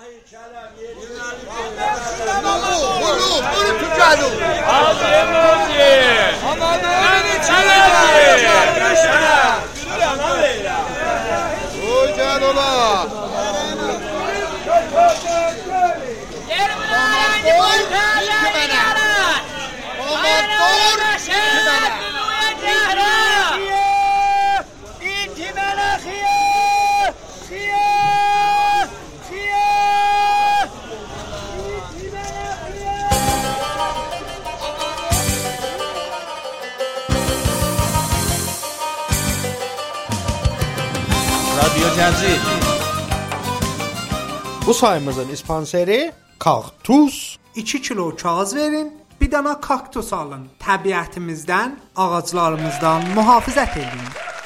برو تو جلو آجه موجی منی چلنجی تو جلو لا Radyo Cazil. Bu sayımızın sponsori Kaktus. 2 kilo kağız verin, bir dana kaktus alın. Təbiətimizdən, ağaclarımızdan mühafizət edin.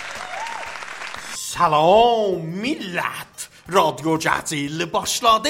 Salam millət. Radyo Cazil başladı.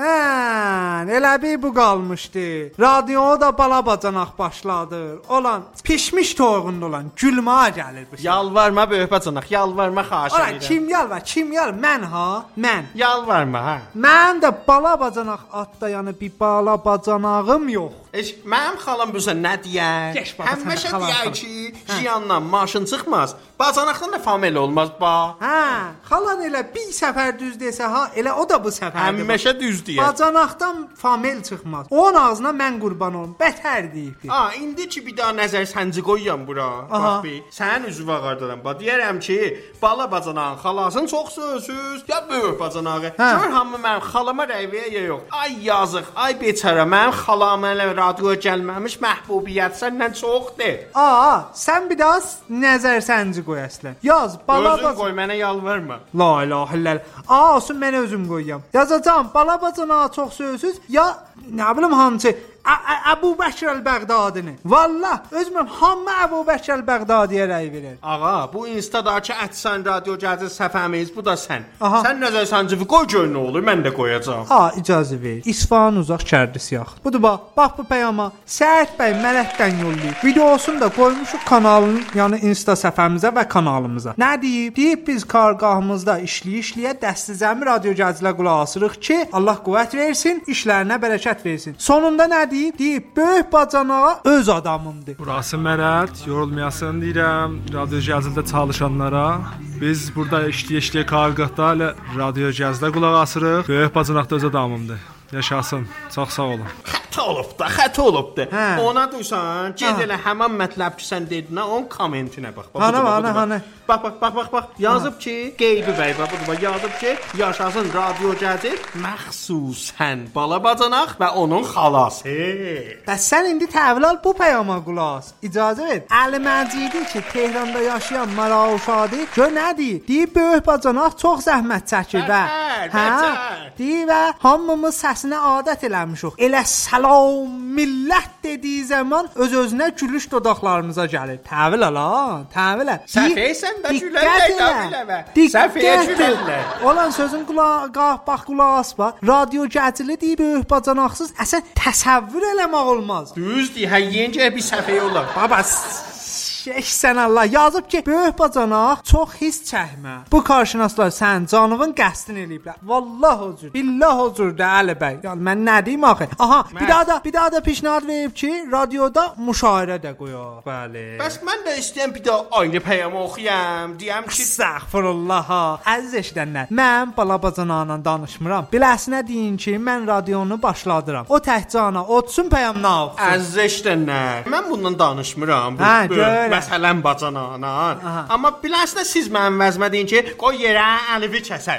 Elə bir bu qalmışdı. Radioya da balabacanaq başladı. Olan pişmiş toyğunda olan gülməyə gəlir bu şey. Yalvarma böyük bacanaq, yalvarma xahiş edirəm. Ola kim yalvar? Kim yalvar? Mən ha, mən. Yalvarma ha. Mən də balabacanaq adda yəni bir balabacanağım yox. Mənim xalam bu sən nə deyər? Geç bax, Həmişə xalam, deyər xalam. ki, jiyandan maşın çıxmaz. Bacanaqdan da famil olmaz ba. Xalan elə bir səfər düz desə ha, elə o da bu səfərdir. Həmişə düz deyər. Bacanaqdan famil çıxmaz. Onun ağzına mən qurban olum. Bətər deyib. İndi ki bir daha nəzər sənci qoyuram bura. Aha. Bax bir. Sənin üzvü ağardıram. Bax deyərəm ki, bala bacanağın xalasın çox sözsüz. Ya böyük bacanağı. Gör hamı mənim xalama rəy verir ya yox. Ay yazıq, ay beçara. Mənim xalam elə radioya gəlməmiş məhbubiyyət səndən çoxdur. Sən bir daha nəzər sənci qoy əslən. Yaz bala Özün qoy, mənə yalvarma. La ilahe illallah. Olsun mən özüm qoyuram. Yazacağam bala bacanağa çox sözsüz ya nə bilim hancı Əbu Bəkir əl-Bəğdadini. Vallah özüməm hamı Əbu Bəkir əl-Bəğdadiyə rəy verir. Ağa, bu instadakı Ətsən Radio Cazil səfəmiz bu da sən. Aha. Sən nəzər səncivi qoy gör nə olur, mən də qoyacağam. İcazə ver. İsfahan uzaq şərqi siyah. Budur bax bu peyama Səhət bəy mələkdən yollayıb. Videosunu da qoymuşuq kanalın, yəni Insta səhifəmizə və kanalımıza. Nə deyib? Deyib biz kargahımızda işləyə dəstizəmi Radio Cazilə qulaq asırıq ki, Allah qüvvət versin, işlərinə bərəkət versin. Sonunda nə deyib böyük bacanağa öz adamımdır. Burası Mərət, yorulmayasın deyirəm Radyo Cazildə çalışanlara. Biz burada işləyə kargahda ilə Radio Cazildə qulaq asırıq. Böyük bacanaqda öz adamımdır. Yaşasın. Çox sağ olun. Xəta olubdu. Ona dursan, ged elə həmin mətləb ki sən dedin, onun kommentinə bax. Ana. Bax. Yazıb ki, Qeybi bəy bax, yazıb ki, yaşasın Radio Cazil məxsusən bala bacanaq və onun xalası. Bəs sən indi təhvil al bu peyama qulaq as. İcazə ver. Əli Məcidi ki, Tehranda yaşayan Marauşadi, gör nə deyir? Deyir böyük bacanaq çox zəhmət çəkir və deyir və hamımız səsinə adət eləmişik. Elə salam millət dediyi zaman öz-özünə gülüş dodaqlarımıza gəlir. Təhvil al ha, təhvil al. Səfəysən də gülərlər. Səfəyə gülərlər. Olan sözün qulaq as bax. Radio Cazili deyib böyük bacanaqsız əsən təsəvvür eləmək olmaz. Düzdür, yencə bir səfəyə olar. Baba sən Allah yazıb ki, böyük bacanaq çox his çəkmə. Bu qarşınaslar sən canının qəsdin eləyiblər. Vallah huzur, billah huzur da Əli bəy. Yəni mən nə deyim axı? Bir daha da pişnahad verib ki, radioda müşairə də qoyaq. Bəli. Bəs mən də istəyirəm bir daha aynı peyamı oxuyam. Deyəm ki, Əstəğfirullah. Əziz eşidənlər, mən bala bacanaqla danışmıram. Biləsinə deyin ki, mən radionu başladıram. O təhcana otsun peyamına oxusun. Əziz eşidənlər, mən bundan danışmıram. Məsələn bacanağına. Amma biləsinə siz mənim vəzmə deyin ki, qoy yerə əlivi kəsər.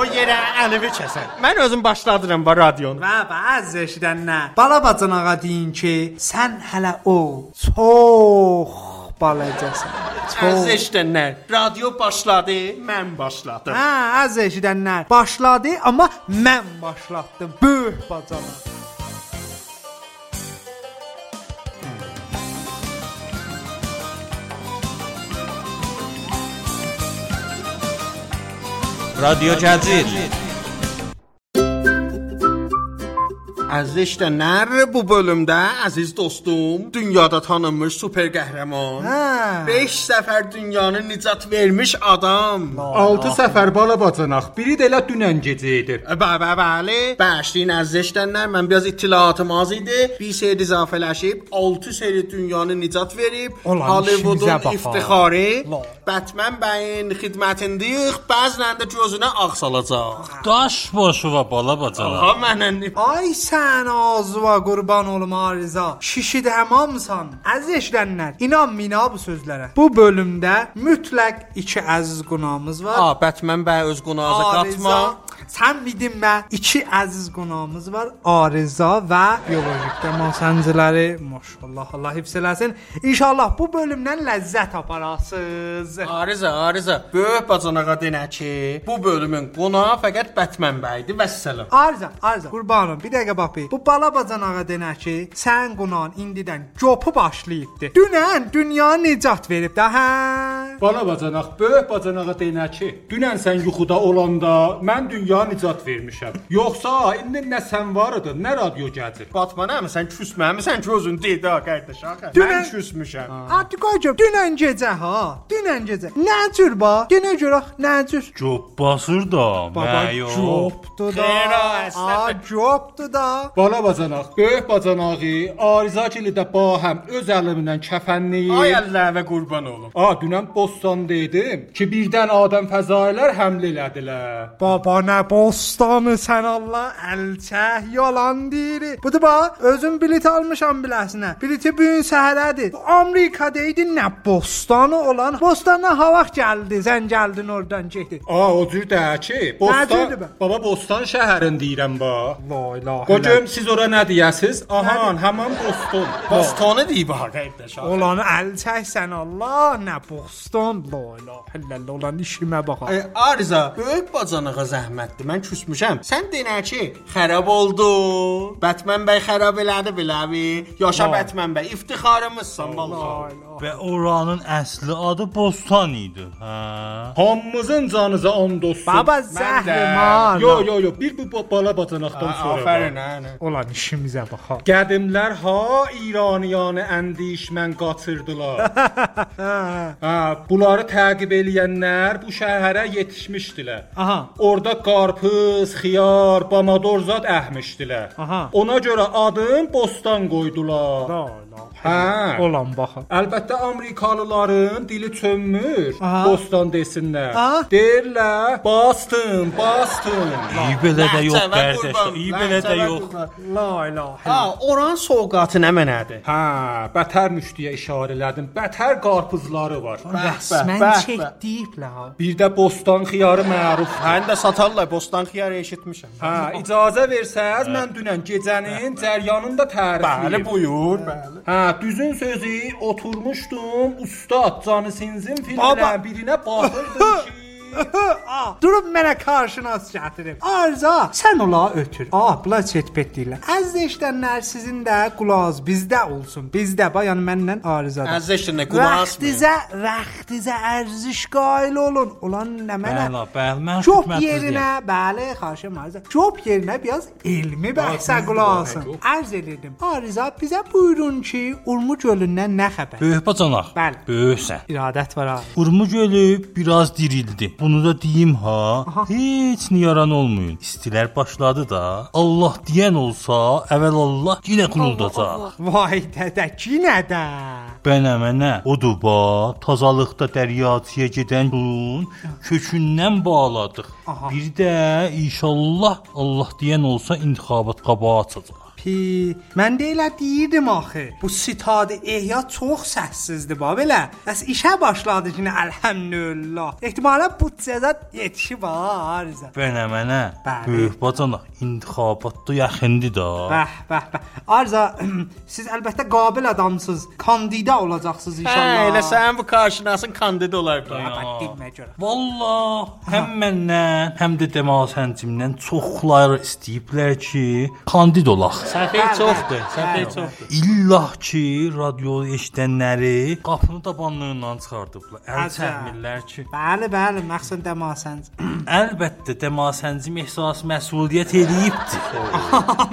Mən özüm başladıram bu radionu. Və əziz eşidənlər, bala bacanağa deyin ki, sən hələ çox balacasan. Əziz eşidənlər, radio başladı, mən başladım. Əziz eşidənlər, başladı, amma mən başlatdım. Böyük bacanaq. Radyo Cazil. Əziz işlənlər, bu bölümdə əziz dostum, dünyada tanınmış super qəhrəman, 5 səfər dünyanı nicat vermiş adam, 6 səfər bala bacanaq, biri də elə dünən gecə idi. Bəli, bəşliyin əziz işlənlər, mən biraz ittilatım az idi, bir seri izafələşib, 6 seri dünyanı nicat verib, Hollywoodun iftixarı, Batman bəyin xidmətindəyik, bəzən də gözünə ağ salacaq. Daş başı və bala bacanaq. Aha, mənən... Ay sən ağzıva qurban olum Arıza. Şişid həmamsan. Əziz eşidənlər, inanmayın bu sözlərə. Bu bölümdə mütləq 2 əziz qonağımız var. Batman bəy öz qonağına qatma. Sən bilmə 2 əziz qonağımız var. Arıza və biolojik dəmansənciləri. Maşallah, Allah hifz eləsin. İnşallah bu bölümdən ləzzət aparasınız. Arıza. Böyük bacanağa denə ki, bu bölümün qonağı fəqət Batman bəydir. Vəssalam. Arıza. Qurbanım, bir dəqiqə bax bir. Bu bala bacanağa denə ki, sən qonağın indidən copu başlayıbdı. Dünən dünya nicat verib də, hə? Bala bacanaq, böyük bacanağa denə ki, dünən sən yuxuda olanda mən dünya nicat vermişəm. Yoxsa indi nə sən var idi, nə radio gəlir. Batmanam, sən küsməmisən ki, özün dedi ha, qardaş. Mən küsmüşəm. Atiqacım, dünən gecə ha. Dünən gecə. Nə cür ba? Yenə görək, nə cür? Cop basır da, məyo. Copdu da. Copdu da. Bala bacanaq, böyük bacanağı Arıza kili də bahəm öz əlimlə kəfənləyib. Ay Allah və qurban olum. Dünən Bostan dedim ki, birdən Adəm fəzailər həmlə elədilər. Baba nə bostanı sən Allah əlçək yalan deyir. Budur bax, özüm bilet almışam biləsinə. Bileti bu gün səhərədir. Amerikada idi, nə bostanı olan. Bostana hava gəldi, sən gəldin oradan getdin. O cür də ki, Bostan, baba Bostan şəhərin deyirəm ba. La ilahe. Qocum siz ora nə deyəsiz? Ahan, həmin Boston. Bostanı deyib ha, qardaş. Olan əlçək sən Allah, nə bostan. La ilahe illallah, olan işimə bax. Arıza, böyük bacanağa zəhmətdir. Mən küsmüşəm. Sən denə ki, xarab oldu. Batman bəy xarab elədi biləvi. Yaşa Batman bəy, iftixarımızsan vallahi. Və oranın əsli adı Bostan idi. Hə. Hamımızın canıza and olsun. Baba zəhriman. Yo, bir bu bala bacanaqdan sonra. Afərin. Olan işimizə bax. Qədimlər İraniyanı əndişmən qaçırdılar. Bunları təqib eləyənlər bu şəhərə yetişmişdilər. Orada qarpız, xiyar, bamadorzat əhmişdilər. Ona görə adın Bostan qoydular. Olan baxın. Əlbəttə Amerikalıların dili çönmür. Bostan desinlər. Deyirlər Boston. İyi belə də yox qardaş. İyi belə də yox. La ilahe. Oran soğuqatı nə mənədir? Bətər müştiyə işarə elədim. Bətər qarpızları var. Rəsmən çəkdiyiblər. Bir də Bostan xiyarı məruf. Həm də satarlar, Bostan xiyarı eşitmişəm. İcazə versəz mən dünən gecənin cəryanını da tərifləyim. Bəli, buyur, bəli. Düzün sözü oturmuşdum, ustad Canı Sinzin filmlərin birinə baxırdım ki... Durub mənə qarşınas gətirib. Arıza, sən ola ötür. Bula çetpet deyirlər. Əziz eşidənlər, sizin də qulağınız bizdə olsun. Bizdə, yəni mənlə Arızadır. Əziz eşidənlər, qulağınız mı? Vaxtizə ərziş qail olun. Olan nə mənə? Bəli, mən Job yerinə, bəli, xarşım Arıza. Job yerinə biraz elmi bəhsə qulaq asın. Ərz edirdim. Arıza, bizə buyurun ki, Urmu gölündən nə xəbər? Böyük bacanaq. Bəli. Böyüksən. İradət var ha. Urmu gölü biraz dirildi. Bunu da deyim ha, heç niyaran olmayın. İstilər başladı da, Allah deyən olsa, əvvəl Allah yenə quruldacaq. Vay dədə, yenə də. Bənəmənə, odur ba, tazalıqda dəryacıya gedən yolun kökündən bağladıq. Bir də inşallah Allah deyən olsa intixabat qabağı açacaq. Mən də elə deyirdim axı. Bu sitadı ehya çox səssizdir ba belə. Bəs işə başladı ki, əlhəmdülillah. Ehtimalən bu cəzat yetişib Arıza. Bənəmənə, böyük bacanaq, intixabatda yaxındır da. Bəh. Arıza, siz əlbəttə qabil adamsınız. Kandida olacaqsınız inşallah. Elə sən bu qarşınasın kandida olar. Demə görə. Vallah, həm məndən, həm də Dəmasəncimdən çoxları istəyiblər ki, kandid olaq. Səfir çoxdur. İllah ki, radio eşidənləri qapını tabanlığından çıxardıblar. Əl çəkmirlər ki. Bəli, məxsən Dəmasənc. Əlbəttə Dəmasəncim ehsas məsuliyyət eləyibdir.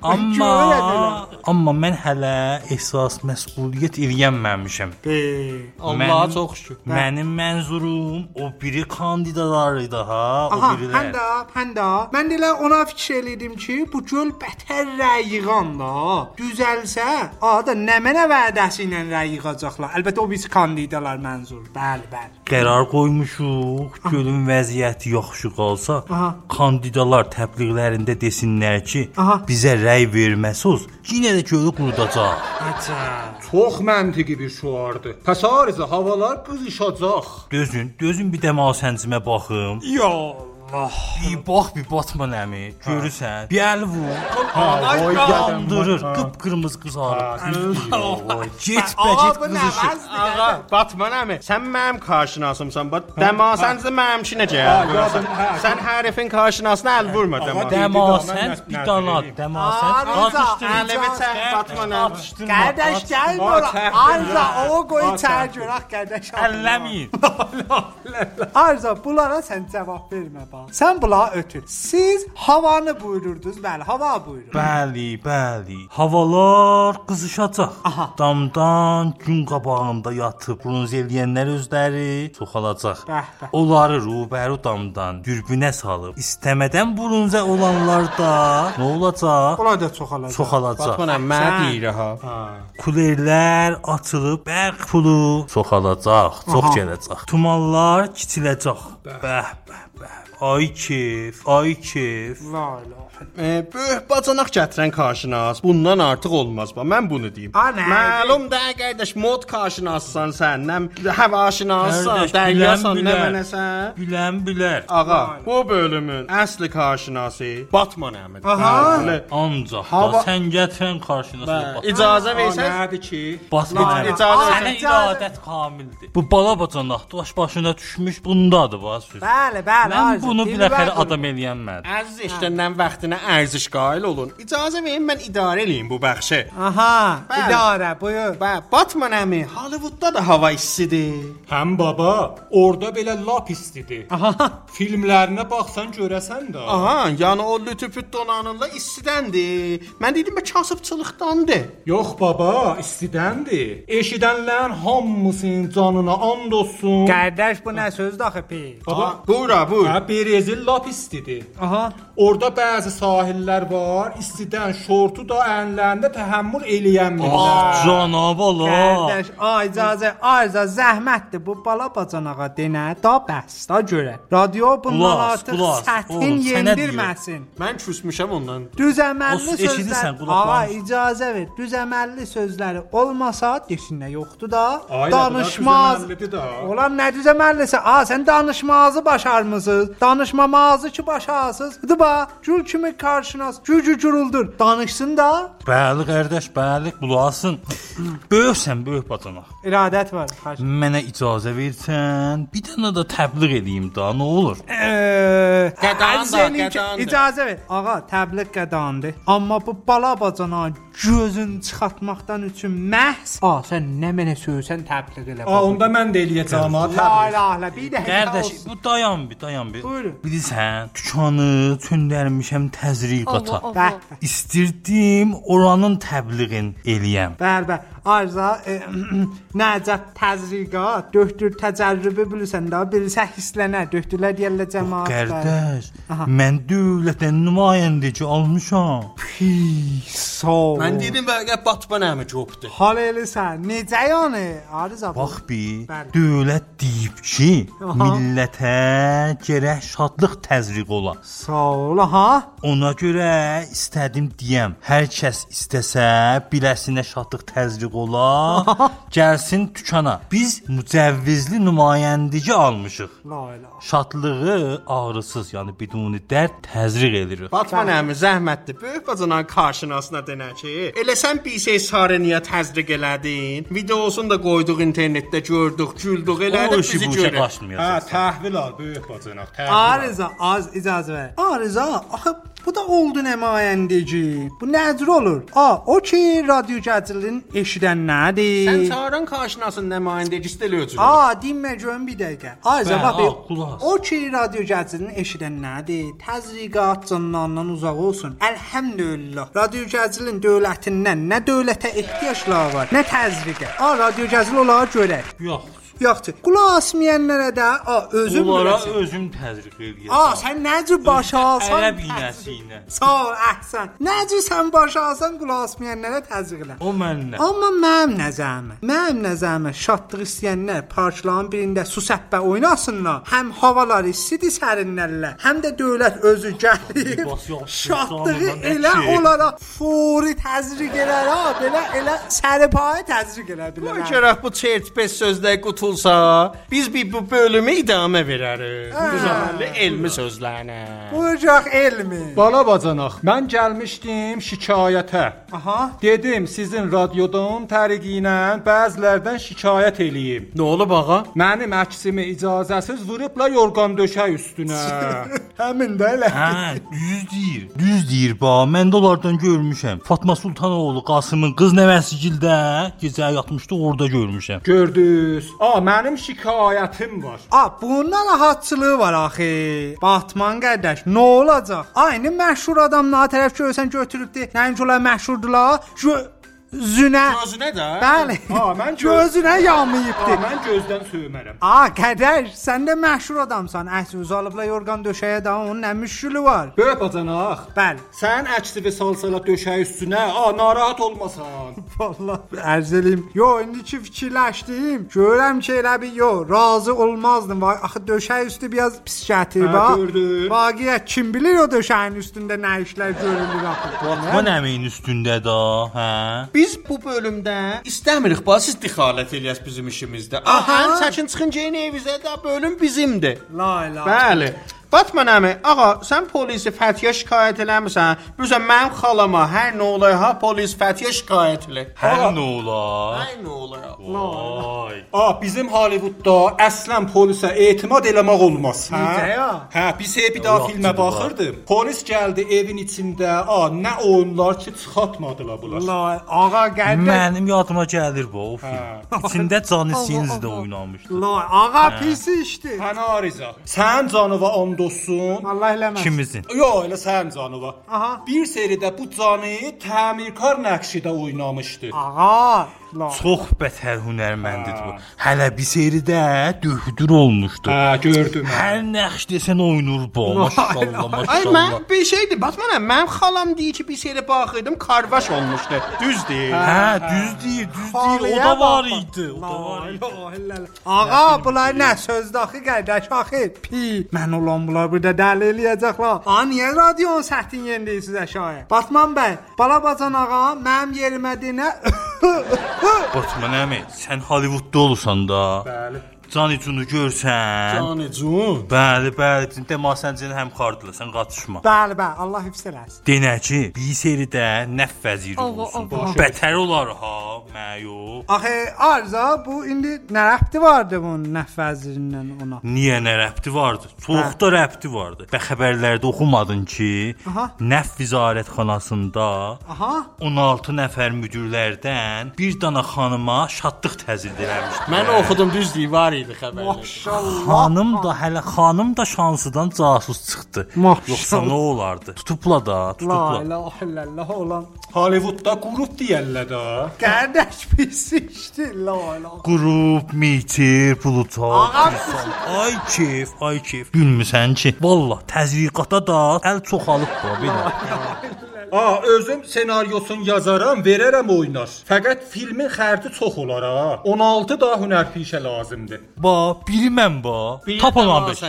Amma mən hələ əsas məsuliyyət eləyənməmişəm. Allaha çox şükür. Mənim mənzurum o biri kandidatlar idi ha, o Aha, birilər. həndə. Mən elə ona fikir elədim ki, bu göl bətər rəyiğan da. Düzəlsə, ada nə mənə vədəsi ilə rəyiğacaqlar. Əlbəttə o biz kandidatlar mənzur. Bəli. Qərar qoymuşuq, gölün vəziyyəti yaxşı qalsa, kandidatlar təbliğlərində desinlər ki, bizə rəy verməsiz, yenə də gölü qurudacaq. Çox məntiqi bir şuardır. Pəs arıza havalar qızışacaq. Dözün bir dəmasəncimə baxım. Ya Bir bax bir Batman əmi, görürsən? Bir əl vur. Ay Yandırır, qıpqırmızı qızarır. Get qızışır. Ağa, Batman əmi, sən mənim qarşınasımsan. Dəmasənci mənimki necə? Sən hərifin qarşınasına əl vurma Dəmasənd bir danad, dəmasənd qatışdırır. Əlimi çək Batman əmi. Qardaş gəl bura. Arza o qoy çərcüraq qardaş. Əlləmin. Arza bunlara sən cavab vermə bax. Sən bunlara ötür. Siz havanı buyururdunuz, bəli, hava buyurur. Bəli. Havalar qızışacaq. Damdan gün qabağında yatıb bronz eləyənlər özləri çoxalacaq. Onları rubəru damdan dürbünə salıb istəmədən bronzə olanlar da nə olacaq? Onlar da çoxalacaq. Batman əmi, mənə deyir ha. Kulerlər açılıb bərq pulu çoxalacaq, çox gələcək. Tumanlar kiçiləcək. Bəh. Ay keyf. Böyük bacanaq gətirən qarşınas. Bundan artıq olmaz. Mən bunu deyim. Məlum da qardaş, mod qarşınassan sən, nə həvaşinassan, dəryasan, nə mənəsən? Bilər. Ağa, bu bölümün əsli qarşınası Batman əmidir. Ancaq da sən gətirən qarşınasına İcazə versən? Nədir ki? Batman sənə iradət kamildir. Bu bala bacanaq daş başına düşmüş bundadır bax söz. Bəli. Mən bunu biləxərə adam eləyənmədim. Əziz işləndən vaxtına ərziş qail olun. İcazə verin mən idarə eləyim bu bəxşi. İdarə, buyur. Batman əmi, Hollywoodda da hava istidir. Həm baba, orada belə lap istidir. Filmlərinə baxsan görəsən də. Yəni o lütüpüt donanırla istidəndir. Mən dedim kasıbçılıqdandır. Yox baba, istidəndir. Eşidənlərin hamısının canına and olsun. Qardaş bu nə sözdür axı pi? Baba, buyur. Berezil lap istidir. Orada bəzi sahillər var, istidən şortu da əyənlərində təhəmmül eləyənmirlər. Cənab Allah. Qardaş, icazə, Arza zəhmətdir bu bala bacanağa denə, da bəs, da görə. Radio bundan artıq sətin yendirməsin. Mən küsmüşəm ondan. Düzəməlli sözlər. İcazə ver. Düzəməlli sözləri olmasa desinə yoxdur da. Danışmaz. Olan nə düzəməllisi? Sən danışmazı başarmısınız. Danışmamazı ki başarsınız. Dıba, gül kimi qarşınas, güruldur. Danışsın da. Bəli qardaş, bəli, bulasın. Böyüksən, böyük bacanaq. İradət var. Mənə icazə versən, bir dənə də təbliğ edeyim da, nə olur? Qədandır. İcazə ver. Ağa, təbliğ qədandır. Amma bu bala bacanağın gözünü çıxartmaqdan üçün məhz, sən nə mənə söyləsən təbliğ elə. Onda mən də eləyəcəm ha təbliğ. Bir də qardaş, bu dayan bir. Buyurun. Bilirsən, dükanı çöndərmişəm təzriqata. İstirdim oranın təbliğin eləyəm. Bəli. Arza, nəcət təzriqat, döktür təcərrübü bilirsən də, bilirsə hislənə, döktürlər deyərlər cəmaatlar. Qardaş, mən dövlətdən nümayəndəci almışam. Mən dedim bəlkə Batman əmi copdur. Hal eləsən, necə yəni? Arza bax bir, dövlət deyib ki, millətə gərək şadlıq təzriq ola. Sağ ol, Ona görə istədim deyəm, hər kəs istəsə, biləsinə şadlıq təzriq ola, gəlsin dükana. Biz mücəvvizli nümayəndəci almışıq. Şadlığı ağrısız, yəni biduni dərd təzriq edirik. Batman əmi zəhmətdir. Böyük bacanağın qarşınasına denə ki, elə sən bir şey sarıniyə təzriq elədin, videosunu da qoyduq internetdə, gördük, güldük, elədik bizi görək. Təhvil al böyük bacanaq. Arıza, az icazə ver. Arıza, axı Bu da oldu nümayəndəci. Bu nədir olur? O ki radyo gəzilin eşidənlərdir. Sən çağıran kaşinasın nümayəndəçisi də ölçülür. Dinmə görüm bir dəqiqə. Ayza bax. O ki radyo gəzilin eşidənlərdir. Təzriqat canlarından uzaq olsun. Elhamdülillah. Radyo gəzilin dövlətindən nə dövlətə ehtiyacları var, nə təzriqə. Radyo gəzil olar görək. Yoxdur. Qulaq asmayanlara da özüm onlara özüm təzriq eləyəcəm. Sən necə başa alsan? Ərəb iynəsi. Sağ ol, əhsən. Necə sən başa alsan qulaq asmayanlara təzriq elə. O məndən. Amma mənim nəzərimə şadlıq istəyənlər parçaların birində su səppə oynasınlar. Həm havalar istidir sərinlərlər, həm də dövlət özü gəlir. Şadlığı elə onlara fori təzriq elər, belə elə sərpayı təzriq elər bilər. Gərək bu çert-pes sözlər qutul biz bu bölümü idamə verərik. Bu zamanlı elmi sözlərinə. Bucaq elmi. Bala bacanaq, mən gəlmişdim şikayətə. Dedim sizin radyodan təriqi ilə bəzilərdən şikayət eləyim. Nə olub ağa? Mənim əksimi icazəsiz vurubla yorğan döşək üstünə. Həmin də elə. Düz deyir bax. Mən də onlardan görmüşəm. Fatma Sultanoğlu Qasımın qız nəvəsigildə gecə yatmışdı, orada görmüşəm. Gördünüz? Mənim şikayətim var. Bundan rahatçılığı var axı. Batman qardaş, nə olacaq? Aynı məşhur adamlara tərəf görsən götürübdü. Nəinki onlar məşhurdular? Gözünə də? Bəli. Mən gözünə yamayıbdı. Mən gözdən söymərəm. Qardaş, sən də məşhur adamsan. Əks uzalıbla yorğan döşəyə də onun nə müşkülü var? Böyük bacanaq. Bəli. Sən əksivi salsala döşək üstünə, narahat olmasan. Vallahi ərz eləyim. İndi ki fikirləşdim. Görürəm ki elə bir razı olmazdım. Axı döşək üstü biraz pis gətirir bax. Gördüm. Vaqiət kim bilir o döşəyin üstündə nə işlər görülür axı. Batman əmin üstündə də, Biz bu bölümdə istəmirik siz dixalət eləyəsiz bizim işimizdə. Çəkin çıxın gəlin evizə də bölüm bizimdir. La. Bəli. Batman əmi, sən polisi Fəthiyə şikayət eləmirsən? Bilirsən, mənim xalama hər nə olar, polis Fəthiyə şikayət elə. Hər nə olar? Vay. Bizim Hollywoodda əslən polisə etimad eləmək olmaz. Biz bir daha filmə baxırdım. Polis gəldi evin içində, nə oyunlar ki çıxartmadılar bunlar. Mənim yadıma gəlir bu o film. İçində Johnny Sins də oynamışdı. Pis işdi. Hənariza. Sən canıva dostsun. Allah eləməz. Kimizin? Elə sən canıva. Bir seridə bu canı təmirkar nəqşidə oynamışdı. Çox bətər hünərməndidir bu. Hələ bir seridə döhdür olmuşdu. Gördüm. Hər nəqş desən oynur bu. Maşallah. Mən bir şeydir. Batmanım, mənim xalam deyir ki, bir seriyə baxırdım, karvaş olmuşdu. Düz deyir. Düz deyir. O da var idi. Bunlar nə sözdür axı qardaş axı? Mən olan bunlar burada dəli eləyəcəklər. Niyə radionun səthini yeniləyirsiz əşaya? Batman bəy, bala bacan ağa, mənim yerimə dinə. Batman əmi, sən Hollywoodda olursan da. Bəli. Canicunu görsən. Canicun? Bəli, bizim deməsəncən həmkardılar, sən qaçışma. Bəli, Allah hifz eləsin. Denəci, bir seridə nəf vəziri olsun. Bətər olar məyo. Axı, Arza, bu indi nə rəbti vardı bunun nəf vəzirindən ona? Niyə nə rəbti vardı? Çox da rəbti vardı. Və xəbərlərdə oxumadın ki, nəf vizarətxanasında 16 nəfər müdirlərdən bir dana xanıma şadlıq təzyiq eləmişdi. Mən oxudum, düz deyir, var idi xəbərlər. Maşallah. Xanım da şansıdan casus çıxdı. Yoxsa nə olardı? Tutubla da. La ilahe illallah olan. Hollywoodda qrup deyirlər də. Qardaş pis işdi. La ilahe. Qrup, mitir, plutar. Ay keyf. Gülmüsən ki, vallah təzyiqata da əl çoxalıb bu belə. Özüm senaryosunu yazaram, verərəm oynar. Fəqət filmin xərci çox olar 16 da hünərpişə lazımdır. Bilməm Tap olan beş.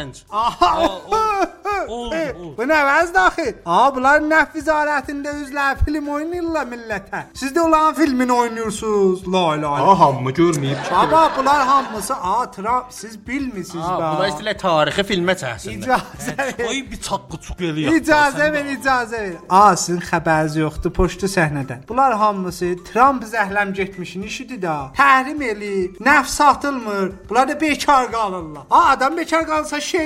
Bu nə vəzd axı? Bunlar nəf vizarətində üzlər film oynayırlar millətə. Siz də olan filmini oynuyorsunuz. La ilahe. Hamı görməyib ki. Bunlar hamısı Trump, siz bilmisiniz Bunlar istəyirlər tarixi filmə çəksinlər. Qoy bir çaqqı-çuq eləyək. İcazə ver. Sizin xəbəriniz yoxdur poçtu səhnədən. Bunlar hamısı Trump zəhləm getmişin işidir da. Təhrim eləyib, nəf satılmır. Bunlar da bekar qalırlar. Adam bekar qalsa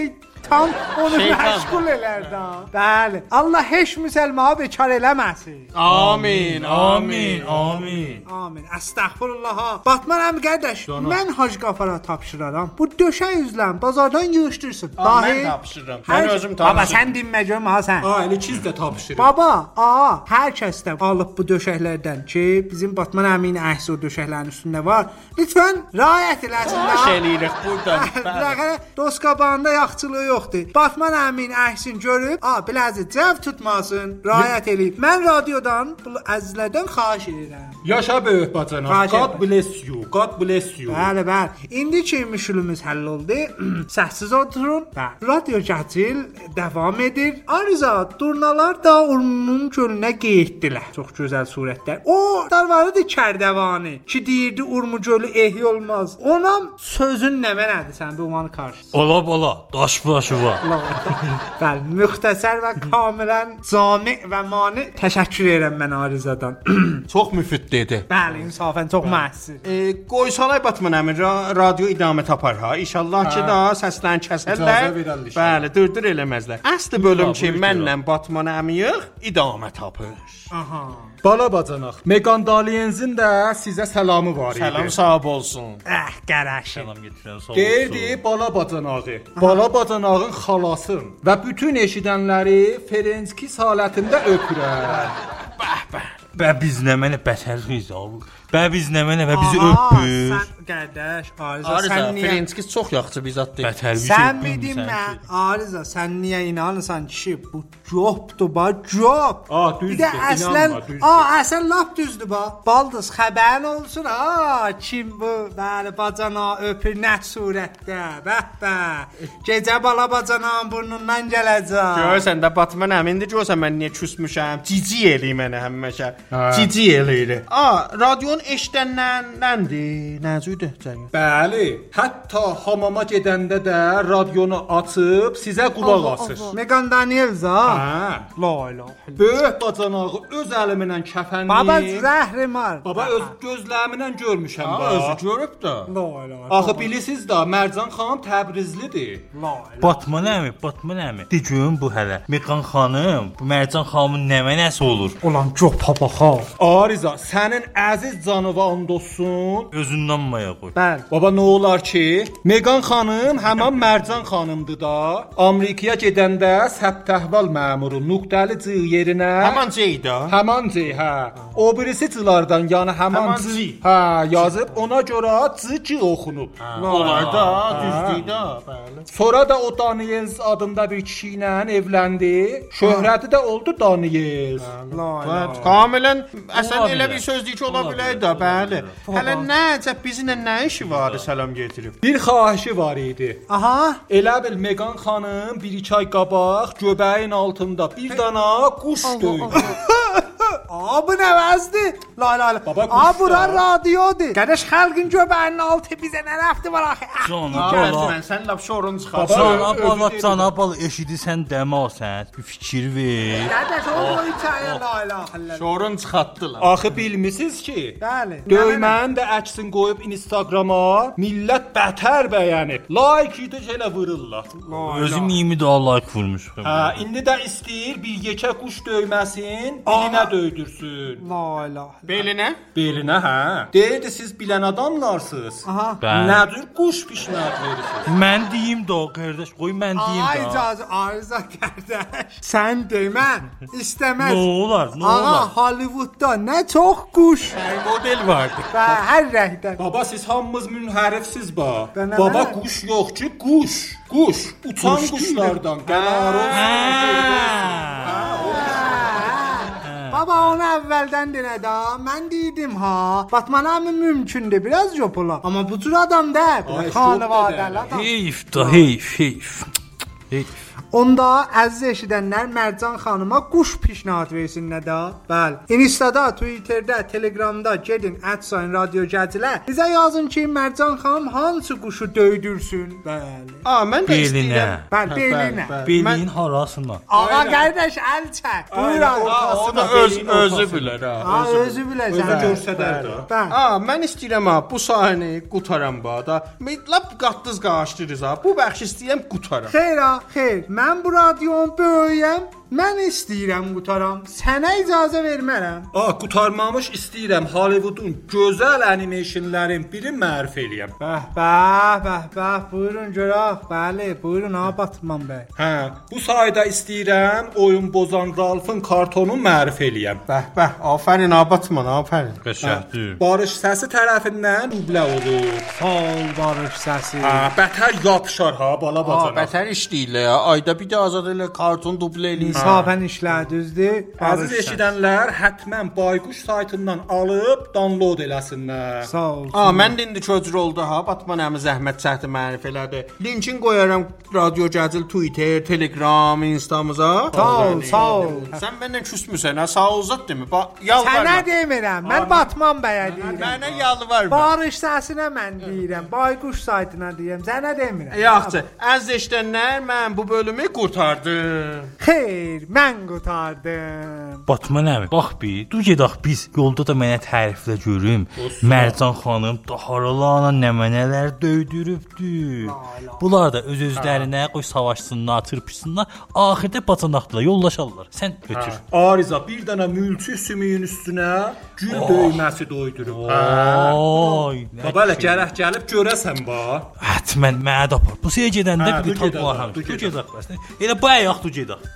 şeytan onu məşğul elər də. Bəli. Allah heç müsəlmanı bekar eləməsin. Amin, amin. Amin. Estağfurullah. Batman əmi qardaş, mən Hacı Qafara tapşıraram. Bu döşək üzlən bazardan yığışdırsın. Mən tapşırıram. Mən özüm tapşırıram. Baba sən dinmə görmə ha sən. Elə çiz də tapşırır. Baba, hər kəsdən alıb bu döşəklərdən ki, bizim Batman əminin əksi o döşəklərin üstündə var. Lütfən riayət eləsinlər. Baş eləyirik buradan. Bəli. Dost qabağında yaxçılığı yoxdur. Batman əminin əksini görüb, biləzi cəv tutmasın, riayət eləyib. Mən radiodan bu əzizlərdən xahiş edirəm. Yaşa böyük bacana. God bless you. God bless you. Bəli, bəli. İndi ki müşkülümüz həll oldu. Səssiz oturun. Bəli. Radio Cəcil davam edir. Arıza durnalar da Urmunun gölünə getdilər. Çox gözəl surətlər. O darvarıdır Kərdəvanı ki deyirdi Urmu gölü ehya olmaz. Ona sözün nə mənədir sən bu umanı qarşısında? Ola, daş başı var. Bəli, müxtəsər və kamilən cami və mani təşəkkür edirəm mən Arızadan. Çox müfid dedi. Bəli, insafən çox məhsul. Qoysalay Batman əmi radio idamə tapar ha. İnşallah ki da səslən kəsərlər. Bəli, dırdır eləməzlər. Əsli bölüm ki mənlə Batman əmiyik idamə tapır. Aha. Bala bacanaq. Megan Dalienzin də sizə salamı var idi. Salam sağ olsun. Qaraş. Salam gətirən sağ olsun. Deyirdi bala bacanağı. Bala bacanağın xalasın və bütün eşidənləri Ferenski salətində öpürər. Bə biz nə mənə bətərliyiz abi. Bə biz nə mənə və bizi öpür. Sən qardaş, Arıza Arıza, sən niyə? Ferenski çox yaxşı bir zat deyil. Bətərliyiz. Sən bildin mən, Arıza sən niyə inanırsan kişi? Bu copdur ba, cop. Düzdür. Bir də əslən, əslən lap düzdür ba. Baldız xəbərin olsun kim bu? Bəli, bacana öpür nə surətdə? Bəh. Gecə bala bacananın burnundan gələcək. Görsən də Batman əmindi görsən mən niyə küsmüşəm? Cici eləyir mənə həmişə. Cici eləyir. Radionun eşidənlərəndir. Nəzüdür cəmi. Bəli, hətta hamama gedəndə də radionu açıb sizə qulaq asır. Megan Daniels La ilahe. Böyük bacanağı öz əlimlə kəfənliyib. Baba zəhrimar. Baba öz gözlərimlə görmüşəm da. Özü görüb də. La ilahe. Axı bilirsiniz də Mərcan xanım Təbrizlidir. Batman əmi. De görüm bu hələ. Meqan xanım, bu Mərcan xanımın nə mənəsi olur? Ulan copa baxa. Ariza, sənin əziz canıva and olsun. Özündən maya qoy. Bəli. Baba nə olar ki, Megan xanım həmin Mərcan xanımdır da. Amerikaya gedəndə səbt əhval məmuru nöqtəli C yerinə Həman Ceyda. Həman C, hə. O birisi C-lardan, yəni həman C. Hə, yazıb ona görə C oxunub. Onlar da düzdür də, bəli. Sonra da o Daniels adında bir kişi ilə evləndi. Şöhrəti də oldu Daniels. Kamilən əsən elə bir sözdür ki, ola bilər də, bəli. Hələ nəcə bizimlə nə işi var? Salam gətirib. Bir xahişi var idi. Aha. Elə bil Megan xanım 1-2 ay qabaq göbəyin altında bir dana quş döydü. Bu nə vəzdir? La. Baba, Bura radiodur. Qardaş xalqın göbəyinin altı bizə nə rəfti var axı? Mən sən lap şorun çıxar. Cana bala eşidirsən demə sən. Bir fikir ver. Qardaş o hekayə la ilahe. Şorun çıxartdılar. Axı bilmisiniz ki, Bəli. döymənin də əksini qoyub Instagrama millət bətər bəyənib. Like idi elə vururlar. Özüm 20 daha like vurmuşum. Hə, indi də istəyir bir yekə quş döyməsin, bilinə döydürsün. La ilahe. Belinə? Belinə, hə. Deyirdi siz bilən adamlarsınız. Aha. Bəli. Nədir quş pişnət verirsiniz? Mən deyim də qardaş, qoy mən deyim Ay də. icazə Arıza qardaş. Sən demə. İstəməz. Nə olar? Hollywoodda nə çox quş. Model vardı. Və hər rəngdən. Baba siz hamımız münhərifsiz ba. Bənə Baba mənə. quş yox ki, quş. Quş. Uçan quşlardan. Baba onu əvvəldən denə də. Mən dedim ha. Batman əmi mümkündür biraz jopula. Amma bu cür adam da. Xanavadəli adam. Heyf da heyf. Onda əziz eşidənlər Mərcan xanıma quş pişnahad versinlər də. Bəli. Instada, Twitterdə, Telegramda gedin @radiogəzilə. Bizə yazın ki, Mərcan xanım hansı quşu döydürsün. Bəli. Mən də istəyirəm. Bəli, belinə. Belin harasına. Ağa qardaş əl çək. Buyurun. O da özü bilər ha. Özü biləcək. Görsədər də. Bəli. Mən istəyirəm ha bu sahəni qutaram da. Lap qatdız qaçdırız ha. Bu bəxş istəyirəm qutaram. Xeyr. Mən bu radionu böyüyəm. Mən istəyirəm qutaram. Sənə icazə vermərəm. Qutarmamış istəyirəm Hollywoodun gözəl animationların biri mərif eləyəm. Bəh. Buyurun görək. Bəli, buyurun Batman bəy. Bu sayda istəyirəm oyun bozan Ralfın kartonu mərif eləyəm. Bəh. Afərin Batman, afərin. Qəşəngdir. Barış səsi tərəfindən dublə olur. Sağ Barış səsi. Bətər yapışar ha bala bacana. Bətər işləyirlər ya. Ayda bir də azad elə karton dublə eləyir. İnsafən işlər düzdür. Əziz eşidənlər, həttəmən Bayquş saytından alıb download eləsinlər. Sağ ol. Mən də indi köcür oldu ha. Batman əmi zəhmət çəkdi mərif elədi. Linkin qoyaram Radio Gəzil Twitter, Telegram, Instamıza. Sağ ol. Sən məndən küsmüsən ha. Sağ ol zət demə. Yalvarma. Sənə demirəm. Mən Batman bəyə deyirəm. Mənə yalvarma. Barış səsinə mən deyirəm. Bayquş saytına deyirəm. Sənə demirəm. Yaxşı. Əziz eşidənlər, mən bu bölümü qurtardım. Xeyr, mən qutardım. Batman əmi, bax bir, dur gedək biz. Yolda da mənə təriflə görüm. Mərcan xanım daharalarla nəmənələr döydürübdü. Bunlar da öz-özlərinə qoy savaşsınlar, çırpışsınlar. Axirdə bacanaqla yollaşarlar. Sən götür. Ariza bir dənə mülçü sümüyün üstünə gül döyməsi doydurub. Babalə gərək gəlib görəsən bax. Həttəmən mənə də apar. Bu səyə gedəndə Hə, bir dur tat gedək, var. dur Dur gedək. gedək bəs. Elə bu ayaq dur gedək.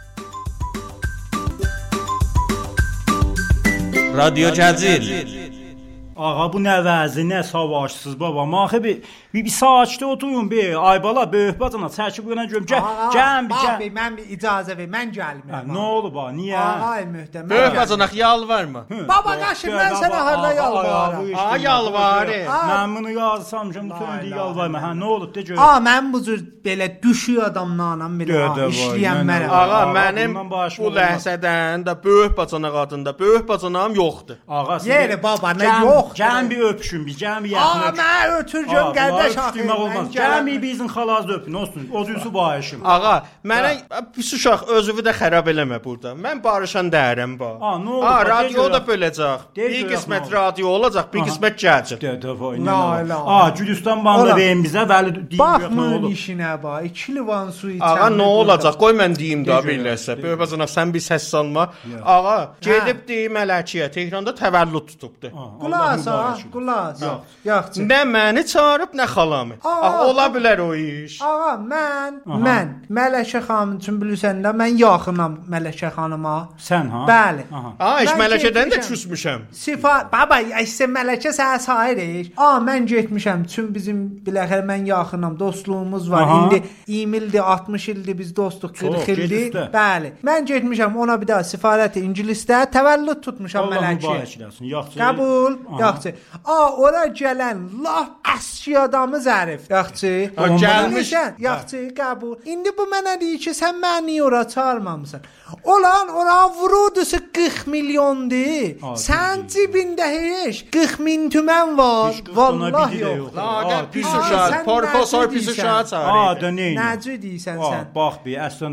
Radio Gəzil. Ağa bu nə vəzi, nə savaşsız baba. Maxı bir saatdə oturun bir. Ay bala böyük bacana çəkib yana görüm. Gəlin bir gəl. Mən bir icazə ver, mən gəlmirəm. Nə olub ha? Niyə? Ay möhtəm. Böyük bacanaq yalvarma. Baba qaşım mən sənə harda yalvarıram. Yalvarı. Mən bunu yazsam ki, bütün indi yalvarma. Nə olub de gör. Mən bu cür belə düşüy adamla belə işləyənmərəm. Ağa mənim bu ləhsədən də böyük bacanaq adında böyük bacanağım yoxdur. Ağa Yeri baba nə yox. Gəlin bir öpüşün, bir gəlin bir yaxın öpüşün. Mən ötürcəm qardaş axı. Gəlin bir bizim xalazı öpün, olsun. Odusu bayışım. Ağa, mənə pis uşaq özünü də xarab eləmə burada. Mən barışan dəyərəm ba. Nə oldu? Radio da böləcək. Bir qismət radio olacaq, bir qismət gəncil. Gülüstan bandı verin bizə, bəli deyim yox nə Baxmın olub. işinə bax. 2 livan su içəm. Ağa nə olacaq? Qoy mən deyim də biləsə. Böyük bacanaq sən bir səs salma. Ağa, gedib deyim Mələkiyə, Tehranda təvəllüd tutubdu. Qulaq. Yox. Nə məni çağırıb, nə xalamı. Ola bilər o iş. Ağa, mən Mələkə xanım üçün bilirsən də mən yaxınam Mələkə xanıma. Sən ha? Bəli. Heç Mələkədən də küsmüşəm. Baba, isə Mələkə sənə sayırıq. Mən getmişəm. Çün bizim biləxər mən yaxınam, dostluğumuz var. İndi 20 ildir, 60 ildir biz dostuq, 40 ildir. Bəli. Mən getmişəm ona bir daha səfarət İngilisdə təvəllüd tutmuşam Mələkə. Qəbul. Yaxşı. Ora gələn laf əski adamı zərif. Yaxşı. Gəlmişsən. Yaxşı, qəbul. İndi bu mənə deyir ki, sən məni ora çağırmamısan. Ora vurudusu 40 milyondur. Sən cibində heç 40 min tümən var. Vallahi yox. Pis uşaq, professor pis uşaq çağırır. Necə deyirsən sən? Bax bir, əslən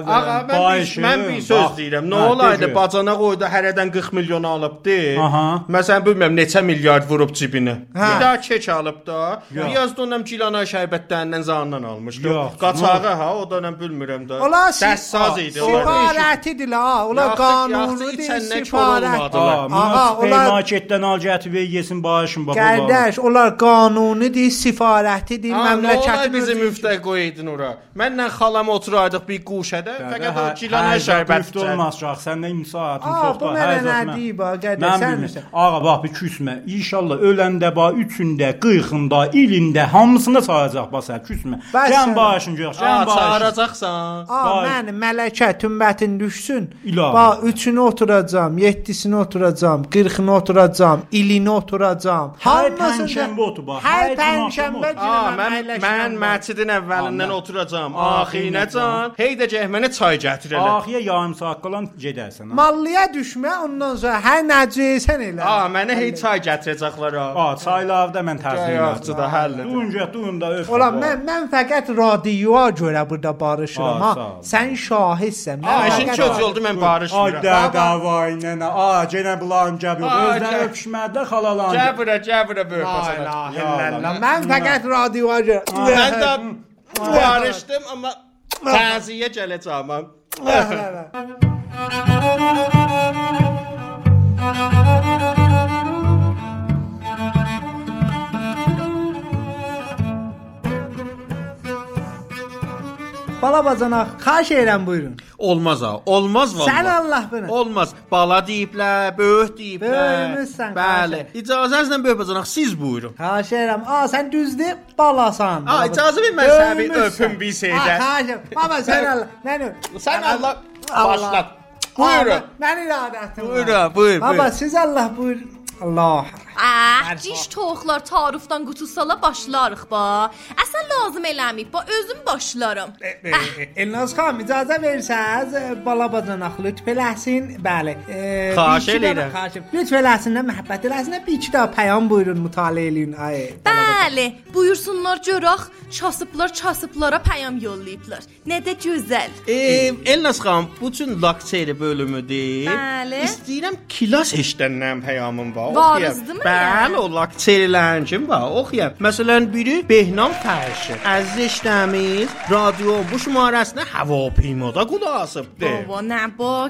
mən bir söz deyirəm. Nə olaydı bacana qoydu hərədən 40 milyon alıbdı. Məsələn bilmirəm neçə milyard vurub cibinə. Bir daha keç alıb da. Biraz donam kilana şərbətlərindən zandan almışdı. Qaçağı ha, o da mən bilmirəm də. Dəssaz idi. Sifarətidir la. Ola qanunudur, sifarət. Marketdən al gətir və yesin bağışın baba. Qardaş, onlar qanunudur, sifarətidir, məmləkəti bizim müftə qoydun ora. Mənlə xalam oturaydıq bir quşədə, fəqət o kilana şərbət olmaz uşaq. Səndən imsaatın çoxdur. Bu mənə nə deyib, qardaş, sən misən? Ağa bax bir küs küsmə. İnşallah öləndə ba 3-ündə, 40-ında, ilində hamısını sayacaq basar, küsmə. Can başın yox, can başın. Çağıracaqsan. Mən mələkə tümbətin düşsün. İlahi. Bax 3-ünü oturacam, 7-sini oturacam, 40-ını oturacam, ilini oturacam. Hər pənşənbə otur bax. Hər pənşənbə Mən məscidin əvvəlindən oturacam. Axirinacan. Hey də cəhmənə çay gətirələr. Axiyə yarım saat qalan gedərsən. Mallıya düşmə, ondan sonra hər nəcəsən elə. Mənə hey çay gətirəcəklər. Çaylarda mən tərzim Yaxşı da həll. Durun da öf. Ola mən fəqət radioya görə burada barışıram ha. Sən şahidsən. İşin köz oldu mən barışmıram. Ay davayınə. Genə bulan gəbir. Özləri öpüşmədilər xalalan. Gəbirə böyük basana. Mən fəqət radioya görə. Mən də barışdım amma təziyə gələcəm. Bala bacanaq, xahiş edirəm buyurun. Olmaz ha, olmaz vallahi. Sən Allah bana. Olmaz. Bala deyiblər, böyük deyiblər. Böyümüzsən. Bəli. İcazənizlə böyük bacanaq siz buyurun. Xahiş edirəm. Sən düzdür, balasan. İcazə ver mən sənə bir öpüm bir şeydə. Xahiş. Baba sən Allah. Mən Sən Allah başlat. Buyurun. Mən iradətim. Buyur. Baba siz Allah buyurun. Allah. Ciş toxlar tarifdan qutusala başlarıq ba. Əsən lazım eləməyib ba, özüm başlarım. Elnaz xanım icazə versəz, bala bacanaq lütf eləsin. Bəli. Xahiş edirəm. Lütf eləsin, məhəbbət eləsin. Bir iki daha pəyam buyurun, mütaliə eləyin. Bəli, buyursunlar görək. Çasıblara pəyam yollayıblar. Nə də gözəl. Elnaz xanım, bu üçün lakseri bölümüdür. Bəli. İstəyirəm kilas eşdəndən pəyamım var. Varizdir mi? Bəli, o lakserilərin kim var? Oxuyaq. Məsələn, biri Behnam Fərşi. Əziz eşdəmiz, radio bu şumarəsinə havapiymada qulaq asıbdır. Baba, nə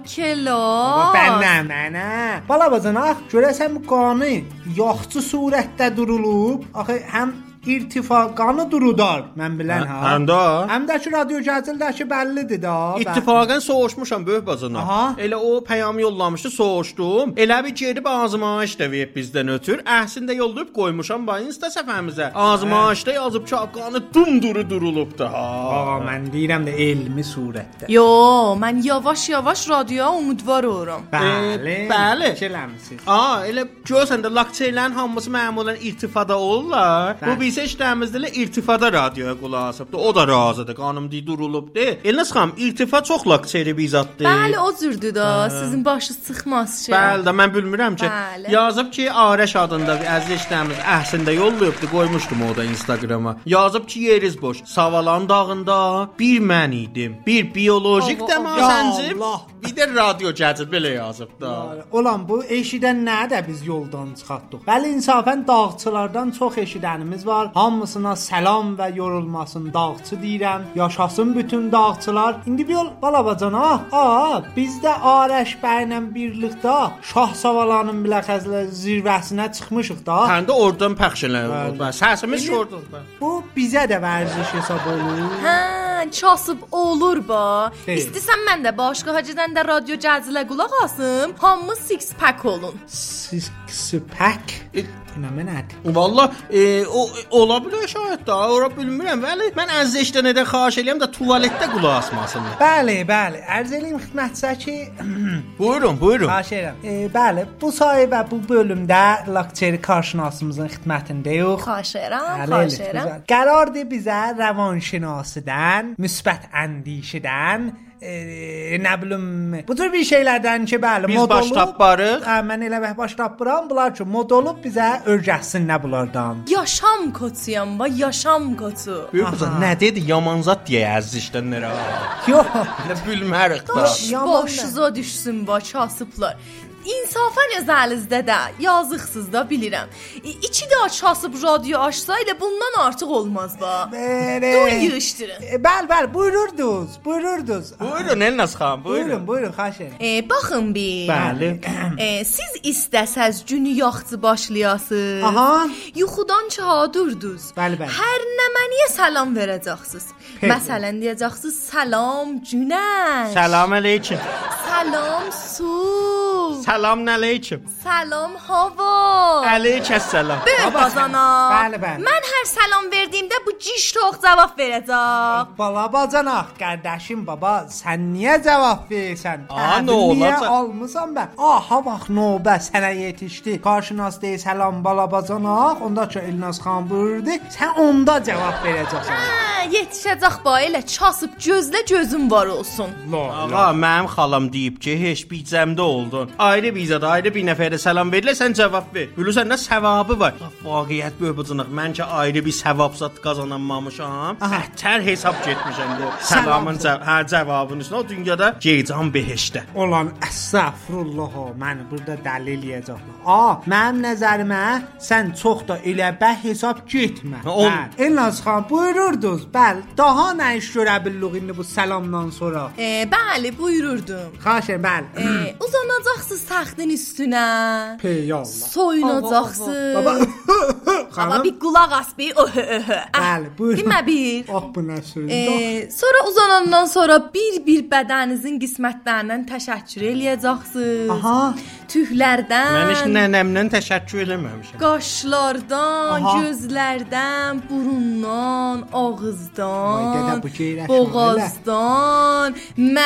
bakela. Mənə. Bala bacanaq, görəsən bu qanı yaxçı surətdə durulub. Axı həm irtifa qanı durudar, mən bilən ha. Həm də ki radio gəzildəki bəllidir da. İttifaqən soğuşmuşam böyük bacanaq. Elə o pəyam yollamışdı, soğuşdum. Elə bir gedib azmaş da verib bizdən ötür. Əhsində yollayıb qoymuşam ba Insta səhifəmizə. Azmaşda yazıb ki, qanı dumduru durulubdu ha. Mən deyirəm də elmi surətdə. Yo, mən yavaş-yavaş radioya umidvar oluram. Bəli. Fikirləmisiniz? Elə görsən də lakserilərin hamısı məmulən irtifada olurlar. Bu biz eşdəmizdə irtifada radioya qulaq asıbdı. O da razıdır. Qanım deyə durulubdu. Elnaz xanım, irtifa çox lakseri bizatdır. Bəli, o cürdür da. Sizin başınız çıxmaz ki. Bəli də mən bilmirəm ki. Yazıb ki, Arəş adında bir əziz eşdəmiz əhsində yollayıbdı. Qoymuşdum o da Instagrama. Yazıb ki, yeriz boş. Savalan dağında bir mən idim. Bir biolojik dəmasəncim. Bir də radio gəzib belə yazıb da. Olan bu eşidən nə də biz yoldan çıxartdıq. Bəli, insafən dağçılardan çox eşidənimiz var. Hamısına salam və yorulmasın dağçı deyirəm. Yaşasın bütün dağçılar. İndi bir yol bala bacana. Bizdə Arəş bəylə birlikdə Şah Savalanın biləxəzlə zirvəsinə çıxmışıq da. Həm də oradan pəxş eləyirik. Səsimiz şordur. Bu bizə də vərdiş hesab olur. Çasıb olur ba. İstəsən mən də başqa hacıdan da radio cəzilə qulaq asım. Hamı six pack olun. Six pack? Nədir? Valla ola bilər şahid da, ora bilmirəm. Bəli, mən əziz eşidənədən xahiş eləyəm də tualetdə qulaq asmasınlar. Bəli. Ərz eləyim xidmətçisə ki, buyurun. Xahiş edirəm. Bəli, bu sayədə bu bölümdə lakseri qarşınasımızın xidmətindəyik. Xahiş edirəm. Qərardır bizə rəvanşinasıdan, müsbət əndişədən, nə bilim, bu tür bir şeylərdən ki, bəli, biz baş tapbarıq. Mən elə baş tapıram, bunlar ki, mod olub bizə örgəsin nə bunlardan. Yaşam koçuyam ba, yaşam koçu. Böyük qızım, nə dedi? Yaman zat deyə əziz işlənlərə. Yox. Nə bilmərik da. Başınıza düşsün ba, kasıblar. İnsafən özəlinizdə də yazıqsız da bilirəm. İki də açasıb radio açsa elə bundan artıq olmaz ba. Dur yığışdırın. Bəli, buyururdunuz. Buyurun Elnaz xanım, buyurun, xahiş edirəm. Baxın bir. Bəli. Siz istəsəz günü yaxçı başlayasınız. Yuxudan çağdırdınız. Bəli. Hər nəməniyə salam verəcəksiniz. Məsələn deyəcəksiniz salam günəş. Salam əleykum. Salam su. Salam aleyküm. Salam hava. Aleykəssalam. Böyük bacanaq. Bəli, bəli. Mən hər salam verdiyimdə bu ciş tox cavab verəcək. Bala bacanaq, qardaşım baba, sən niyə cavab verirsən? Aa, nə Niyə olacaq? almısan bə? Aha bax növbə sənə yetişdi. Qarşınaz deyir salam bala bacanaq, onda ki Elnaz xan buyurdu, sən onda cavab verəcəksən. Hə, yetişəcək ba elə çasıb gözlə gözün var olsun. Ağa, mənim xalam deyib ki, heç bicəmdə oldun. Ayrı bizada, ayrı bir nəfərə salam verilə, sən cavab ver. Bilirsən nə savabı var? Vaqiət böyük bucunaq. Mən ki ayrı bir savab zat qazanamamışam. Tər hesab getmişəm bu salamın cavabının üstünə. O dünyada geycan behişdə. Olan əstəğfurullah, mən burada dəlil yeyəcəklər. Mənim nəzərimə sən çox da elə bəh hesab getmə. Elnaz xan buyururdunuz. Bəli, daha nə iş görə bilirik indi bu salamdan sonra? Bəli, buyururdum. Xahiş edirəm, bəli. Uzanacaqsınız taxtın üstünə. Peyallah. Soyunacaqsınız. Baba. Amma bir qulaq as bir. Bəli, buyurun. Demə bir. Bu nə sözdür? Sonra uzanandan sonra bir qismətinizin qismətlərindən təşəkkür eləyəcəksiniz. Aha. Tüklərdən. Mən heç nənəmdən təşəkkür eləməmişəm. Qaşlardan, gözlərdən, burundan, ağızdan, boğazdan.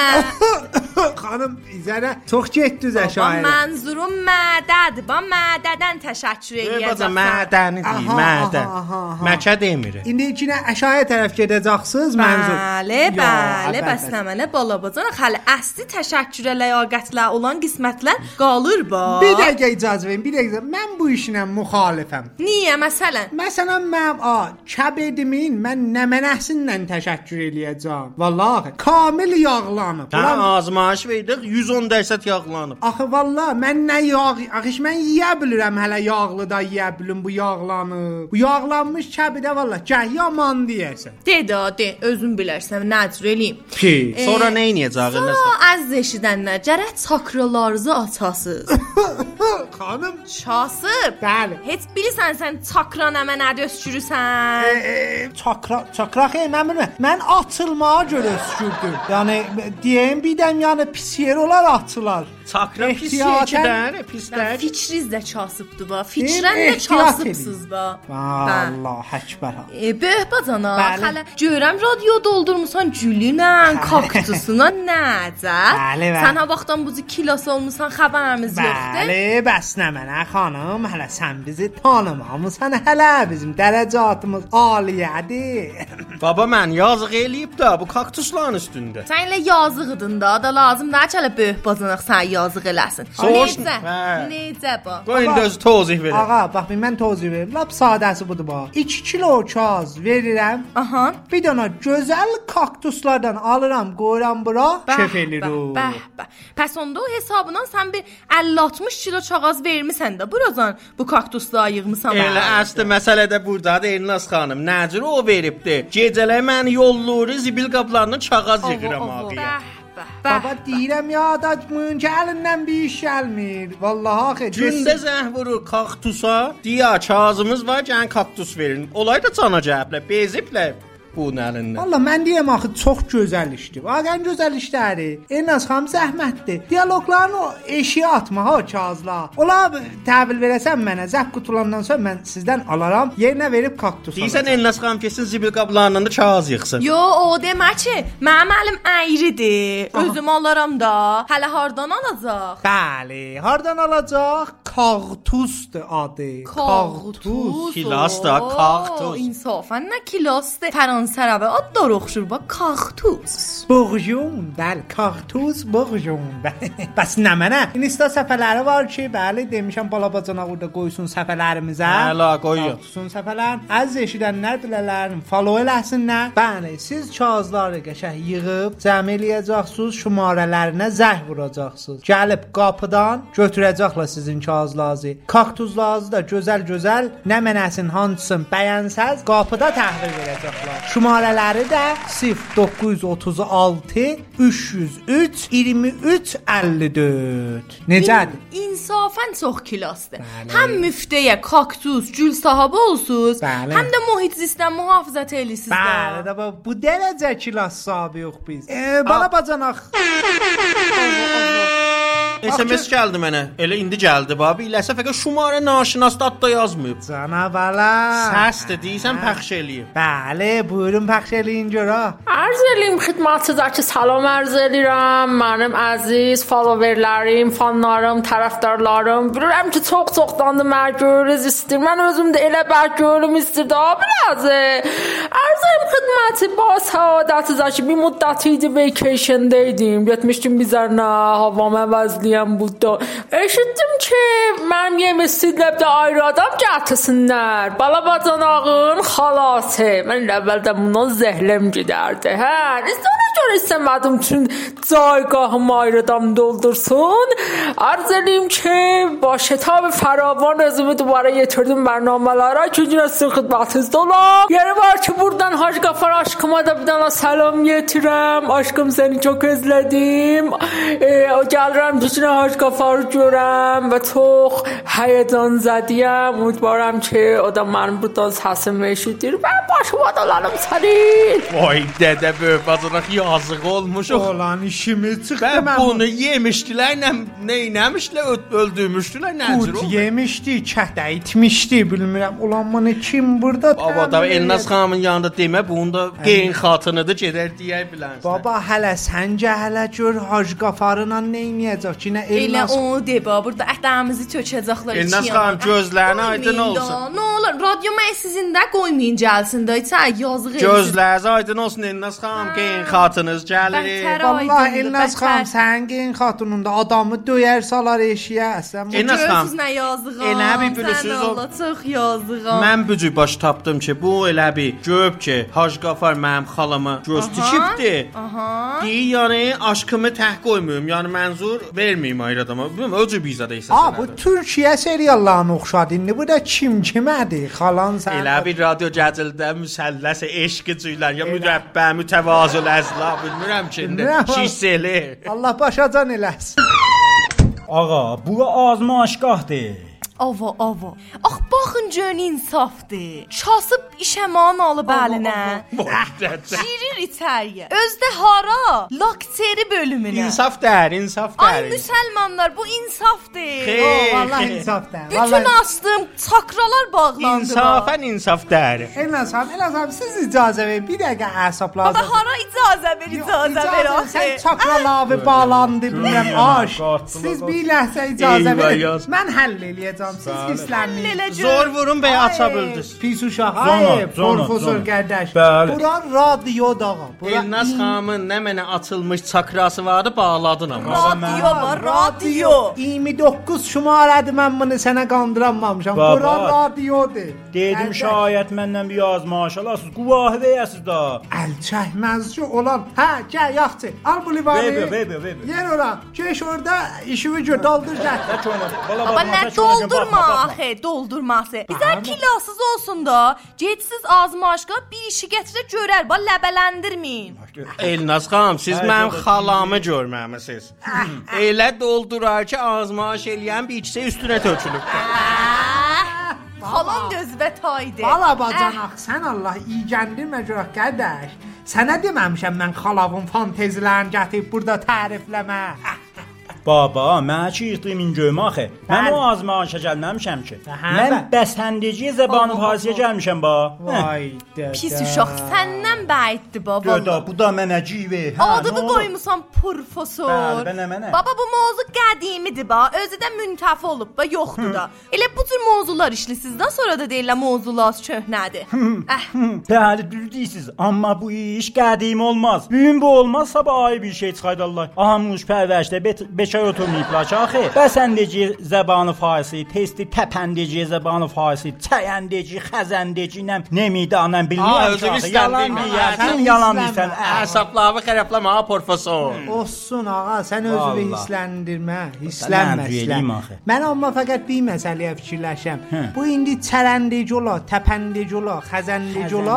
Xanım, izərə çox getdiniz əşairə. Mənzurum mədədir. Mədədən təşəkkür eləyəcəksən. Mədəni deyil, mədən. Məkə demir. İndi içinə əşairə tərəf gedəcəksiniz mənzur. Bəli, bəs nə mənə balabacan xəli əsli təşəkkürə ləyaqətlə olan qismətlər qalır ba. Bir dəqiqə icazə verin, bir dəqiqə. Mən bu işinə müxalifəm. Niyə məsələn? Məsələn mən kəbedimin mən nə mənəsindən təşəkkür eləyəcəm. Vallahi kamil yağlanıb. Azmaş verdik 110% yağlanıb. Axı vallahi mən nə mən yeyə bilirəm hələ yağlı da yeyə bilim bu yağlanıb. Bu yağlanmış kəbidə vallahi gəh yaman deyəsən. De, özün bilərsən, nə cür eləyim. Sonra nə edəcəyik? Sonra əziz eşidənlər, gərək çakralarınızı açasınız. Xanım, çasıb. Bəli. Heç bilirsən sən çakra nə mənə öskürürsən? Çakra xeyr, mən bilmirəm. Mən açılmağa görə öskürdüm. Yəni deyim birdən yəni pis yer olar açılar. Çakra pis yerdən, pislər. Fikriniz də çasıbdı ba. Fikrən də çasıbsınız ba. Allah əkbər. Böyük bacana, hələ görəm radio doldurmusan gülünə, kaktusuna nəcə? Sən ha vaxtdan bu kilos olmusan xəbərimiz yoxdur. Bəli, bəs nə mənə xanım, hələ sən bizi tanımamısan, hələ bizim dərəcatımız aliyədir. Baba mən yazıq eləyib də bu kaktusların üstündə. Sən elə yazığıdın da lazım da hələ böyük bacanaq sən yazıq eləsin. Necə ba? Qoy indi öz tozih verin. Ağa, bax mən tozih verim. Lap sadəsi budur bax. 2 kilo kaz verirəm. Aha. Bir dənə gözəl kaktuslardan alıram, qoyuram bura, kef eləyirik. Pəs onda o hesabından sən bir 50-60 kilo kağız vermisən də buradan bu kaktusları yığmısan. Elə əsli məsələ də burdadır Elnaz xanım. Nəcür o veribdi? Gecələr məni yollur, zibil qablarını kağız yığıram ağıya. Baba deyirəm ya adamın gəlindən bir iş gəlmir. Vallahi axı gündə zəh vurur kaktusa. Deyə kağızımız var, gəlin kaktus verin. Olay da cana cəhəblə, beziblə. Bu nəlindən. Valla mən deyəm axı çox gözəl işdir. Vaqəən gözəl işləri. Elnaz xanım zəhmətdir. Dialoqlarını eşiyə atma ha kağızla. Ola təhvil verəsən mənə zəf qutulandan sonra mən sizdən alaram, yerinə verib kaktus alacam. Deyirsən Elnaz xanım kesin zibil qablarından da kağız yığsın. Yo, o demək ki, mənim əlim əyridir. Özüm alaram da. Hələ hardan alacaq? Bəli, hardan alacaq? Kaktusdur adı. Kaktus. Kilos da kaktus. İnsafən nə kilosdur? Fransərəvə ad da oxşur bax kaktus. Bourgeon, bəli, kaktus, bourgeon. Bəs nə mənə? Insta səfələri var ki, bəli, demişəm balabacanaq orada qoysun səfələrimizə. Hələ qoyun. Kaktusun səfələrin. Əziz eşidənlər bilələrin follow eləsinlər. Bəli, siz kağızları qəşəng yığıb cəm eləyəcəksiniz, şumarələrinə zəh vuracaqsınız. Gəlib qapıdan götürəcəklər sizin kağızlarınızı. Kaktuslarınızı da gözəl-gözəl nə mənəsin hansın bəyənsəz qapıda təhvil verəcəklər. Şumarələri də 0936 303 23 54. Necədir? İnsafən çox kilosdur. Həm müftəyə kaktus, gül sahibi olsunuz, həm də mühit zistdən mühafizət eləyirsiniz. Bəli, də bu dərəcə kilos sahibi yox biz. Balabacanaq. SMS gəldi mənə. Elə indi gəldi babi. İləsə fəqət şumarə naşinas da yazmayıb. Canabalar. Səsdir deyirsən pəxş eləyim. Bəli, buyurun pəxş eləyin görə. عرض eləyim xidmətçilərə salam arz edirəm. Mənim əziz followerlərim, fanlarım, tərəfdarlarım. Bilirəm ki, çox-çoxdandır mən görürüz istəyir. Mən özüm də elə bəlkə görüm istirdi biraz. Arz eləyim xidməti با سعادت bir müddət idi vacation'daydım. Getmişdim bizərnə, havam əvəzliyəm burada. Eşitdim ki, mənim yemişsidləbdə ayrı adam gətirsinlər. Balabacanağın xalası. Mən əvvəldən bundan zəhləm gedərdi. Sonra görə istəmədim üçün caygahım ayrı adam doldursun. Arz edeyim ki, با شتاب فراوان özümü duvara yetirdim bərnamələrə. Günün sizin xidmətinizdə olam. Yeri var ki, buradan Hacı Qafar aşkıma da bir dana salam yetirəm. Aşkım seni çok özledim. Gəlirəm bütün Hacı Qafarı görəm və çox həyecan zədiyəm. Ümidvaram ki, o da mənim buradan səsimi eşidir və başıma dolanım sənin. Vay dədə böyük bacanaq yazıq olmuş. Olan işimiz çıxdı mən. Bunu yemişdilər, neynəmişlər, öldürmüşdülər, nəzir oldu? Yemişdi, kətə itmişdi, bilmirəm. Ulan bunu kim burada təmin edir? Baba, Elnaz xanımın yanında demə, bunun da qeyn xatınıdır, gedər deyə bilərsən. Baba, hələ səncə hələ gör Hacı Qafarınla neyniyəcək ki, nə Elnaz? Elə onu de, baba, burada ətlərimizi tökəcəklər içi. Elnaz xanım, gözlərini aydın olsun. Nə olur, radyo məhsizində qoymayın gəlsin də, yazıq elsin. Gözləriniz aydın olsun, Elnaz xanım, qeyn xatınız gəlir. Vallahi Elnaz xanım, sənin qeyn xatınında adamı döyər salar eşiyə. Elnaz xanım, nə yazığam, elə bir bilirsiniz o. Çox yazığam. Mən bu cür baş tapdım ki, bu elə bir görüb ki, Hacı Qafar mənim xalama göz tikibdi. Deyir, yəni aşkımı tək qoymuyorum, yəni mənzur verməyim ayrı adama. Bilməm, o cür bizada isə. Bu Türkiyə seriallarına oxşadı. İndi bu da kim kimədir? Xalan sən. Elə bir radyo gəzildə müsəlləsə eşqicilər, ya müdəbbə, mütəvazıl əzla, bilmirəm ki, şişseli. Allah başacan eləsin. Ağa, bu azmaşqahdır. Ava. Ax, baxın görün insafdır. Kasıb işəman alıb əlinə. Girir içəriyə. Özdə hara? Lakteri bölümünə. İnsaf dər. Ay müsəlmanlar, bu insafdır. Vallahi insafdır. Bütün astım çakralar bağlandı. İnsaf dər. Elnaz xanım, siz icazə verin. Bir dəqiqə əsab lazım. Baba, hara icazə ver axı. Sən çakralar bağlandı, bilmirəm, aş. Siz bir ləhzə icazə verin. Mən həll eləyəcəm. Siz hisslənin. Zor vurun bəy aça bildiniz. Pis uşaq. Ay, profesor qardaş. Buran radioda. Elnaz xanımın nə mənə açılmış çakrası vardı, bağladın amma. Radio var, radio. 29 şumarədir, mən bunu sənə qandıramamışam. Buran radiodur. Dedim şayət məndən bir yazmaş alasınız, quvahı verəsiz da. Əl çəkməzci olan. Gəl yaxçı. Al bu livanı. Ver. Yer ora. Keş orada işimi gör, doldur gəl. Baba, nə doldurma axı, doldurması. Bizə kilasız olsun da, gedsiz azmaşqa bir işi gətirə görər, bax ləbələndirməyin. Elnaz xanım, siz mənim xalamı görməmisiniz. Elə doldurar ki, azmaş eləyən bir ikisi üstünə tökülüb. Xalam gözbə taydı. Bala bacanaq, sən Allah iygəndirmə görək qardaş. Sənə deməmişəm mən xalavın fantezilərini gətirib burada tərifləmə. Baba, mən ki yıxdığım ingöyüm axı. Mən o azmaşa gəlməmişəm ki. Mən bəsəndiciyə zəbanı farisiyə gəlmişəm ba. Vay dədə. Pis uşaq, səndən bəiddir baba. Dədə, bu da mənə civə. Adını qoymusan profesor. Mənə. Baba, bu mövzu qədimidir ba. Özü də müntəfi olub ba, yoxdur da. Elə bu cür mövzular işlisizdən sonra da deyirlər mövzular köhnədir. Bəli, düz deyirsiz. Amma bu iş qədim olmaz. Bugün bu olmaz, sabah ay bir şey çıxaydırlar. Ahamış pərvəşdə bekar oturmayıblar ki, axı. Bəsəndeci zəbanı farisi, testi təpəndeci zəbanı farisi, çəyəndeci, xəzəndeci, nemiydi anam bilmirəm ki. Yalan deyirsən. Əsablarını xərəbləmə, profesor. Olsun ağa, sən özünü hissləndirmə. Hisslənməslə. Mən amma fəqət bir məsələyə fikirləşəm. Bu indi çərəndeci ola, təpəndeci ola, xəzəndeci ola.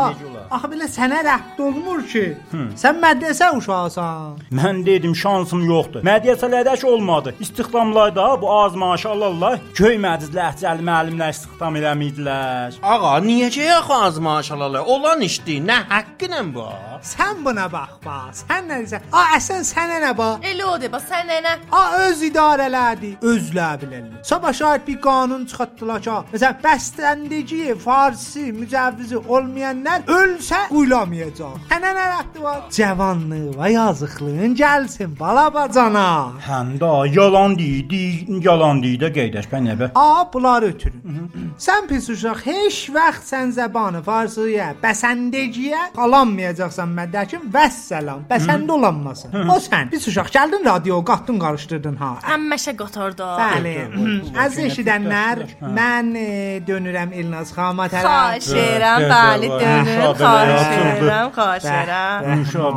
Axı belə sənə rədd olmur ki. Sən mədrəsə uşağısan. Mən dedim şansım yoxdur. Mədrəsələrdə heç olmadı. İstihdamlarda bu az maaş alırlar. Göy məclis ləhcəli müəllimlər istihdam eləmirdilər. Ağa, necə yaxı az maaş alırlar? Olan işdir. Nə haqqınla bu? Sən buna bax. Sən nə deyirsən? Əsən sənə nə bax? Elə o de bax, sən nənə? Öz idarələrdir. Özlər bilərlər. Sabah şahid bir qanun çıxartdılar ki, məsələn, bəstəndəci, farsi, mücəvvizi olmayanlar ölsə quyulamayacaq. Sənə nə rəxti var? Cavanlığı və yazıqlığın gəlsin balabacana. Həm də yalan deyir də qeydəş bən nəbə. Bunları ötürün. Sən pis uşaq, heç vaxt sən zəbanı farsiyə, bəsəndəciyə qalanmayacaqsan mədəkim, vəssalam. Bəsəndə olanmasın. O sən pis uşaq gəldin radio qatdın qarışdırdın ha. Həmməşə qatarda. Bəli. Az eşidənlər, mən dönürəm Elnaz xanıma tərəf. Xahiş edirəm, bəli dönürəm. Xahiş edirəm.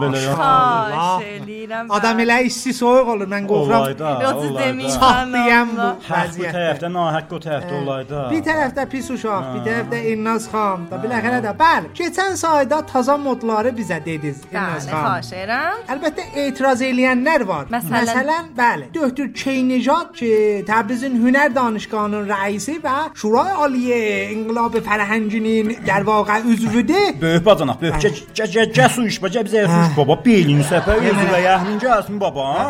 Xahiş edirəm. Adam elə isti soyuq olur, mən qorxuram. Yoxsa deməyim. Saxlayam bu Bu vəziyyətdə. tərəfdə nahaq o tərəfdə olaydı. Bir tərəfdə pis uşaq, bir tərəfdə Elnaz xan da biləxərə də. Bəli, keçən sayda taza modları bizə dediniz Elnaz Bəli, xan. xahiş edirəm. Əlbəttə etiraz eləyənlər var. Məsələn, bəli, Döktür Keynejad ki, Təbrizin Hünər Danışgahının rəisi və Şurای Aliyə İnqilab Fərhənginin در واقع üzvüdür. Böyük bacanaq, böyük su iş bacə bizə su iş baba, belin səpər üzvə yəhmin gəlsin baba.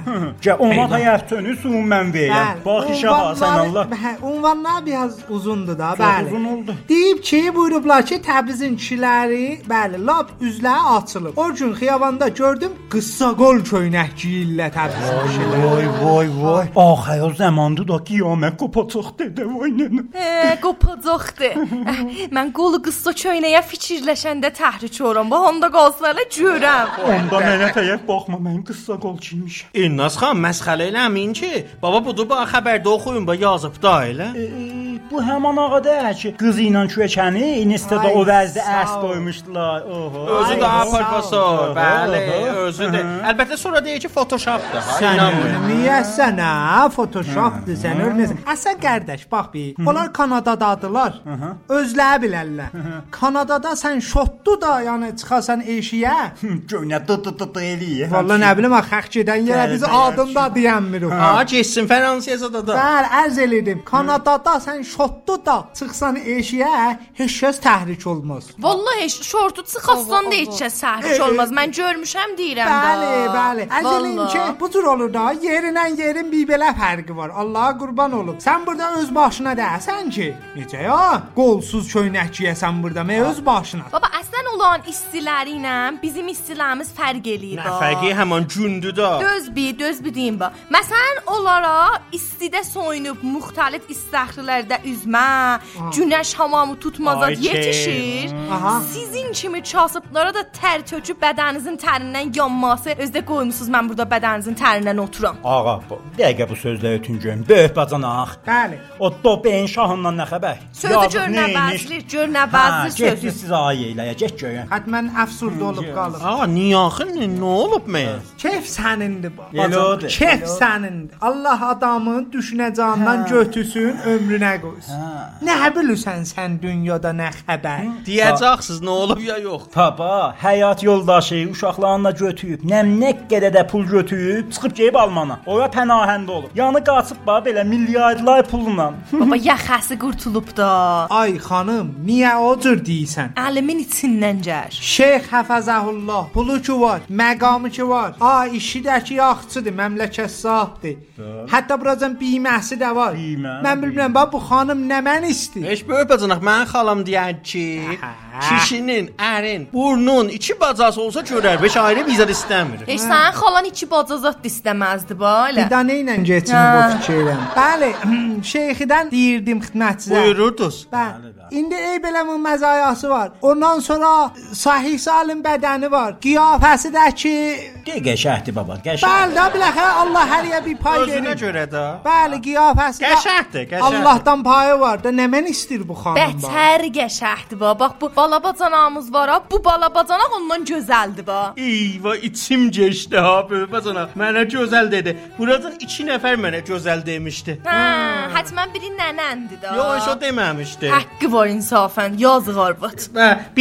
Gə ona həyatını su mən verəm. Bax işə basən Allah. Ünvanlar biraz uzundur da, bəli. Uzun oldu. Deyib ki, buyurublar ki, Təbrizin kişiləri, bəli, lap üzləri açılıb. O gün xiyabanda gördüm, qıssa qol köynək giyirlər Təbrizin kişiləri. Vay. Axı o zamandı da qiyamət qopacaq dedə vay nənə. Qopacaqdı. Mən qolu qıssa köynəyə fikirləşəndə təhrik oluram. Bax onda qalsınlar görəm. Onda mənə təyək baxma, mən qıssa qol giymişəm. Elnaz xan, məsxələ eləmin ki, baba budur, bax xəbərdə oxuyun, bax yazıb da elə. Bu həman ağadır ki, qızı ilə köçəni Instada o vəzdə ərs qoymuşdular. Özü də professor, bəli, özüdür. Əlbəttə sonra deyir ki, Photoshopdur. Niyə sənə Photoshopdur, sən ölməsən. Əsən qardaş, bax bir. Onlar Kanadadadılar. Özləri bilərlər. Kanadada sən şotdu da, yəni çıxasan eşiyə. Göynə eləyir. Vallahi nə bilim, xəx gedən yerə biz adında deyənmirik. Geçsin Fransiyada da. Bəli, ərz elədim. Kanadada sən şotdu da çıxsan eşiyə, heç kəs təhrik olmaz. Vallahi şortu çıxasan da heç kəs təhrik olmaz. Mən görmüşəm deyirəm də. Bəli. Ərz elədim ki, bu cür olur da, yerindən yerin bir belə fərqi var. Allaha qurban olum. Sən burada öz başına deyəsən ki, necə ya? Qolsuz köynək giyəsən burada, öz başına. Baba, əslən olan istiləri ilə bizim istilərimiz fərq eləyir. Nə fərqi həman gündür da. Düz bir deyim bax. Məsələn, onlara istidə soyunub müxtəlif istəxrilərdə üzmə, günəş hamamı tutmazad yetişir. Sizin kimi kasıblara da tər töküb bədəninizin tərindən yanması, özdə qoymusunuz mən burada bədəninizin tərindən oturam. Ağa, dəqiqə bu sözləri ötüncüm. Böyük bacanaq. Bəli. O dobeyin şahından nə xəbər? Sözü gör nə bəzli sözü. Getdi siz ayə eləyə, get görün. Hətmən əfsurda olub qalıb. Niyə axı nə olub mən? Keyf sənindir bu. Elədir. Keyf sənindir. Allah adamın düşünəcəyindən götürsün, ömrünə qoysun. Nə bilirsən sən dünyada nə xəbər? Deyəcəksiniz nə olub ya yox. Baba, həyat yoldaşı uşaqlarına götürüb, nə qədər də pul götürüb, çıxıb gəlib Almana. Ora pənahəndə olub. Yanı qaçıb bax belə milyardlar pulla. Baba, yaxası qurtulub da. Ay xanım, niyə o cür deyirsən? Əlimin içindən gəl. Şeyx Həfəzəhullah, pulu ki var, məqamı ki var. İşi də ki yaxçıdır, məmləkət sahibdir. Hətta buracan biməsi də var. Mən bilmirəm, bax bu xanım nə mən istəyir? Heç böyük bacanaq, mən xalam deyər ki, kişinin, ərin, burnun iki bacası olsa görər, beş ayrı bizə istəmir. Heç sənin xalan iki bacazat istəməzdi belə. Bir dənə ilə keçini bu fikirəm. Bəli, şeyxidən deyirdim xidmətçiyə. Buyururdunuz. Bəli. İndi ey beləmin məzayası var. Ondan sonra sahih salim bədəni var. Qiyafəsi də ki, Qəşəhdir baba, qəşəh. bəli, də biləxə Allah hər yə bir pay verir. Özünə görə də. Bəli, qiyafəsi Qəşəhdir. Allahdan payı var da, nə mən istəyir bu xanım? Bətər qəşəhdir ba. Bax bu balabacanağımız var ha. Bu balabacanaq ondan gözəldir ba. Eyvah, içim geçdi ha böyük bacanaq. Mənə gözəl dedi. Buradan 2 nəfər mənə gözəl demişdi. Hətmən biri nənəndir da. Yox, o deməmişdi. Haqqı var insafən, yazıq arvad. Bir mən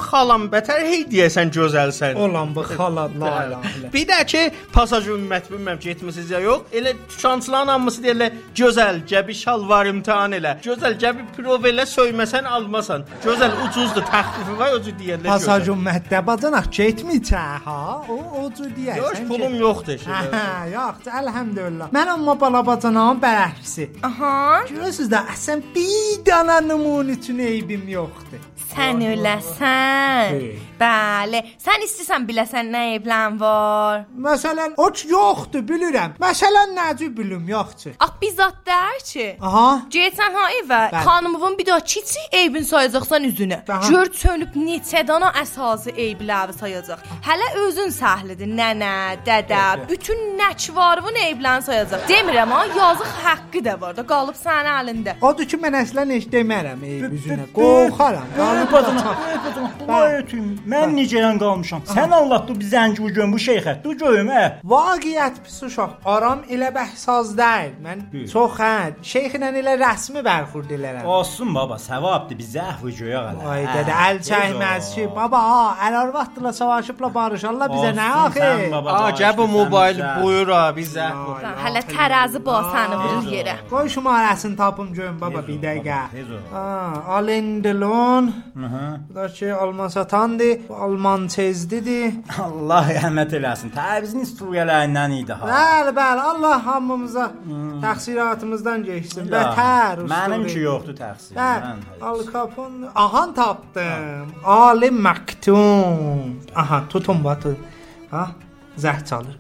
xalam bətər hey deyəsən gözəlsən. Olan bu xala la ilahe. Bir də ki, pasaj ümmət bilməm getmisiniz ya yox. Elə dükançıların hamısı deyirlər, gözəl gəbi şalvar imtahan elə. Gözəl gəbi prov elə söyməsən almasan. Gözəl ucuzdur, təxfifi var özü deyirlər. Pasaj ümmətdə bacanaq getməyəcə ha. O cür deyirsən. Yox, pulum yoxdur. Yox, elhamdülillah. Mən amma bala bacanağın bərəksi. Aha. Görürsüz də əsən bir dana nümun üçün eybim yoxdur. Sən öləsən. Bəli. Sən istəsən biləsən nə eyblan var. Məsələn, o yoxdur, bilirəm. Məsələn, necə bilim, yoxdur. Ax bizzat deyir ki. Aha. Getsən ha evə, xanımın bir daha kiçik eybin sayacaqsan üzünə. Gör çönüb neçə dana əsası eybləri sayacaq. Hələ özün səhlidir, nənə, dədə, bütün nəkvarın eyblərini sayacaq. Demirəm ha, yazıq haqqı da var da, qalıb sənin əlində. Odur ki, mən əslən heç demərəm eyb üzünə. Qorxaram. Mən necəyən qalmışam? Sən anlatdı bir zəngi ucun bu şeyxə. Du görüm Vaqiət pis uşaq. Aram elə bəhsaz deyil. Mən çox şeyxlə elə rəsmi bərxurd elərəm. Olsun baba, savabdır. Biz zəhvi görək hələ. Ay dədə, əl çəkməz ki. Baba, əl arvadla savaşıbla barışarlar bizə nə axı? Acəb mobil buyur bizə. Hələ tərəzi basanı vurur yerə. Qoy şumarəsini tapım görüm baba bir dəqiqə. Alendelon. Bu da ki alman satandı. Alman tezdidir. Allah rəhmət eləsin. Təbizin isturiyələrindən idi ha. Bəli, Allah hamımıza təqsiratımızdan geçsin. Bətər usta. Mənim ki yoxdur təqsir. Al Capone. Ahan tapdım. Ali Maktum. Aha, tutun batı. Ha, zəh çalır.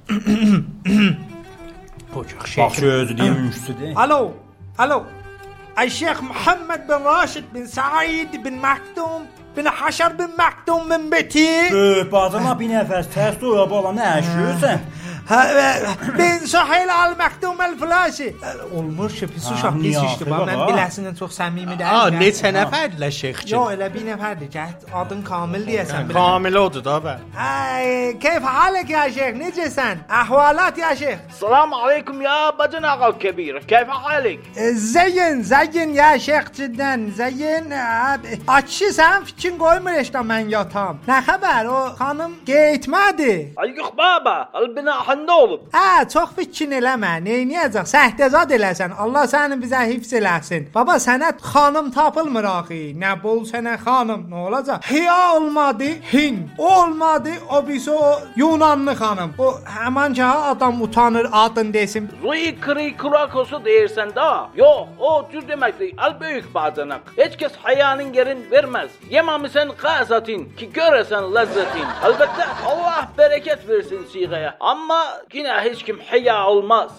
Bax özü deyəmişdi. Alo. Şeyx Muhammed bin Rashid bin Said bin Maktum bin Haşar bin Maktum bin Beti. Bacana bir nəfəs tərs dura bala nə əşiyorsən? Ben Sahil al-Maktum el-Flashi. Olmur ki, pis uşaq pis işdir. Mən biləsindən çox səmimi deyiləm. Neçə nəfərdirlər şeyxçi? Yox, elə bir nəfərdir ki, adın Kamil deyəsən. Kamil odur da bə. Keyf halek ya şeyx, necəsən? Əhvalat ya şeyx. Salam aleykum ya bacana ağal kebir. Keyf halek? Zeyin ya şeyx cidden. Zeyin. Açı sən fikrin qoymur işte mən yatam. Nə xəbər? O xanım getmədi. Ay yox baba, albina ne olub? Çox fikrin eləmə. Neyniyəcək? Səhtəzad eləsən. Allah səni bizə hifz eləsin. Baba, sənə xanım tapılmır axı. Nə bol sənə xanım. Nə olacaq? Hiya olmadı, Hin. O olmadı, o birisi o Yunanlı xanım. O həman ki adam utanır adın desin. Rui kri kurakosu deyirsən da. Yox, o cür deməkdir. Al böyük bacanak. Heç kəs hayanın yerin verməz. Yemamisən qazatin ki görəsən ləzzətin. Əlbəttə Allah bərəkət versin siğəyə. Amma yine heç kim həya olmaz.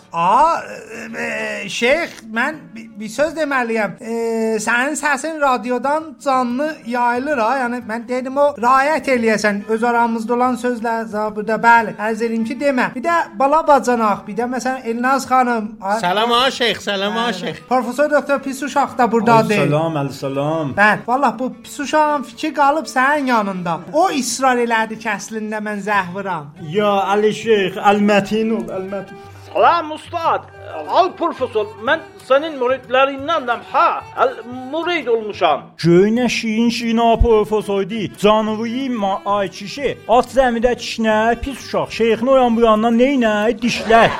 Şeyx, mən bir söz deməliyəm. Sənin səsin radiodan canlı yayılır ha. Yəni mən dedim o riayət eləyəsən öz aramızda olan sözlər zabırda. Bəli, ərz edim ki demə. Bir də bala bacanaq, bir də məsələn Elnaz xanım. Salam ha şeyx, salam ha şeyx. Professor doktor pis uşaq da burdadır. Salam. Bəli, vallah bu pis uşağın fikri qalıb sənin yanında. O israr elədi ki əslində mən zəhviram. Ya Ali Şeyx, Al-Mətin ol, Al-Mətin. Salam ustad. Al profesör, mən sənin müridlərindənəm ha. Mürid olmuşam. Göynə şirin profesordi. Canıvıyım ay kişi. At zəmidə kişnər, pis uşaq. Şeyxin o yan bu yandan neynə? Dişlər.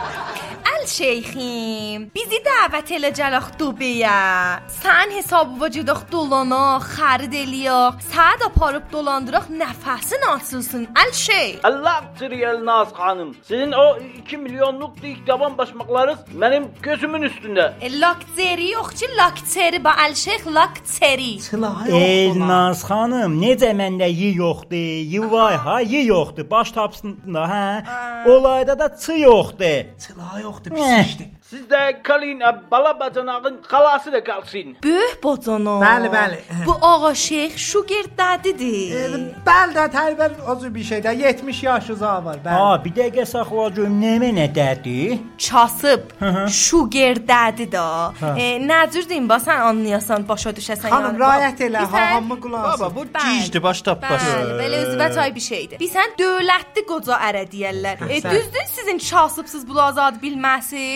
Şeyxim, bizi dəvət eləcək Dubəyə. Sən hesabıva gedək dolana, xərid eləyək. Səni aparıb dolandıraq, nəfəsin açılsın. Şeyx. Allah Elnaz xanım. Sizin o 2 milyonluq dikdaban başmaqlarınız mənim gözümün üstündə. Lakteri yox ki, lakteri ba Şeyx lakteri. Elnaz xanım, necə məndə yi yoxdur? Yi var ha, yi yoxdur. Baş tapsında hə. Olayda da çı yoxdur. Çıla yoxdur. Siz də qalın, bala bacanağın xalası da qalsın. Böyük bacanaq. Bəli. Bu ağa şeyx Sugar Daddy-dir. Bəli də tərbiyəli o bir şeydə 70 yaş uzağı var. Bəli. Bir dəqiqə saxla görüm nə dədi? Kasıb. Sugar Daddy da. Nə cür deyim ba sən anlayasan, başa düşəsən yəni. Xanım riayət elə, hamı qulaq. Baba bu gicdir, baş tapmaz. Belə özünə tay bir şeydir. Bilsən dövlətli qoca ərə deyirlər. Düzdür sizin kasıbsız bu azad bilməsiz.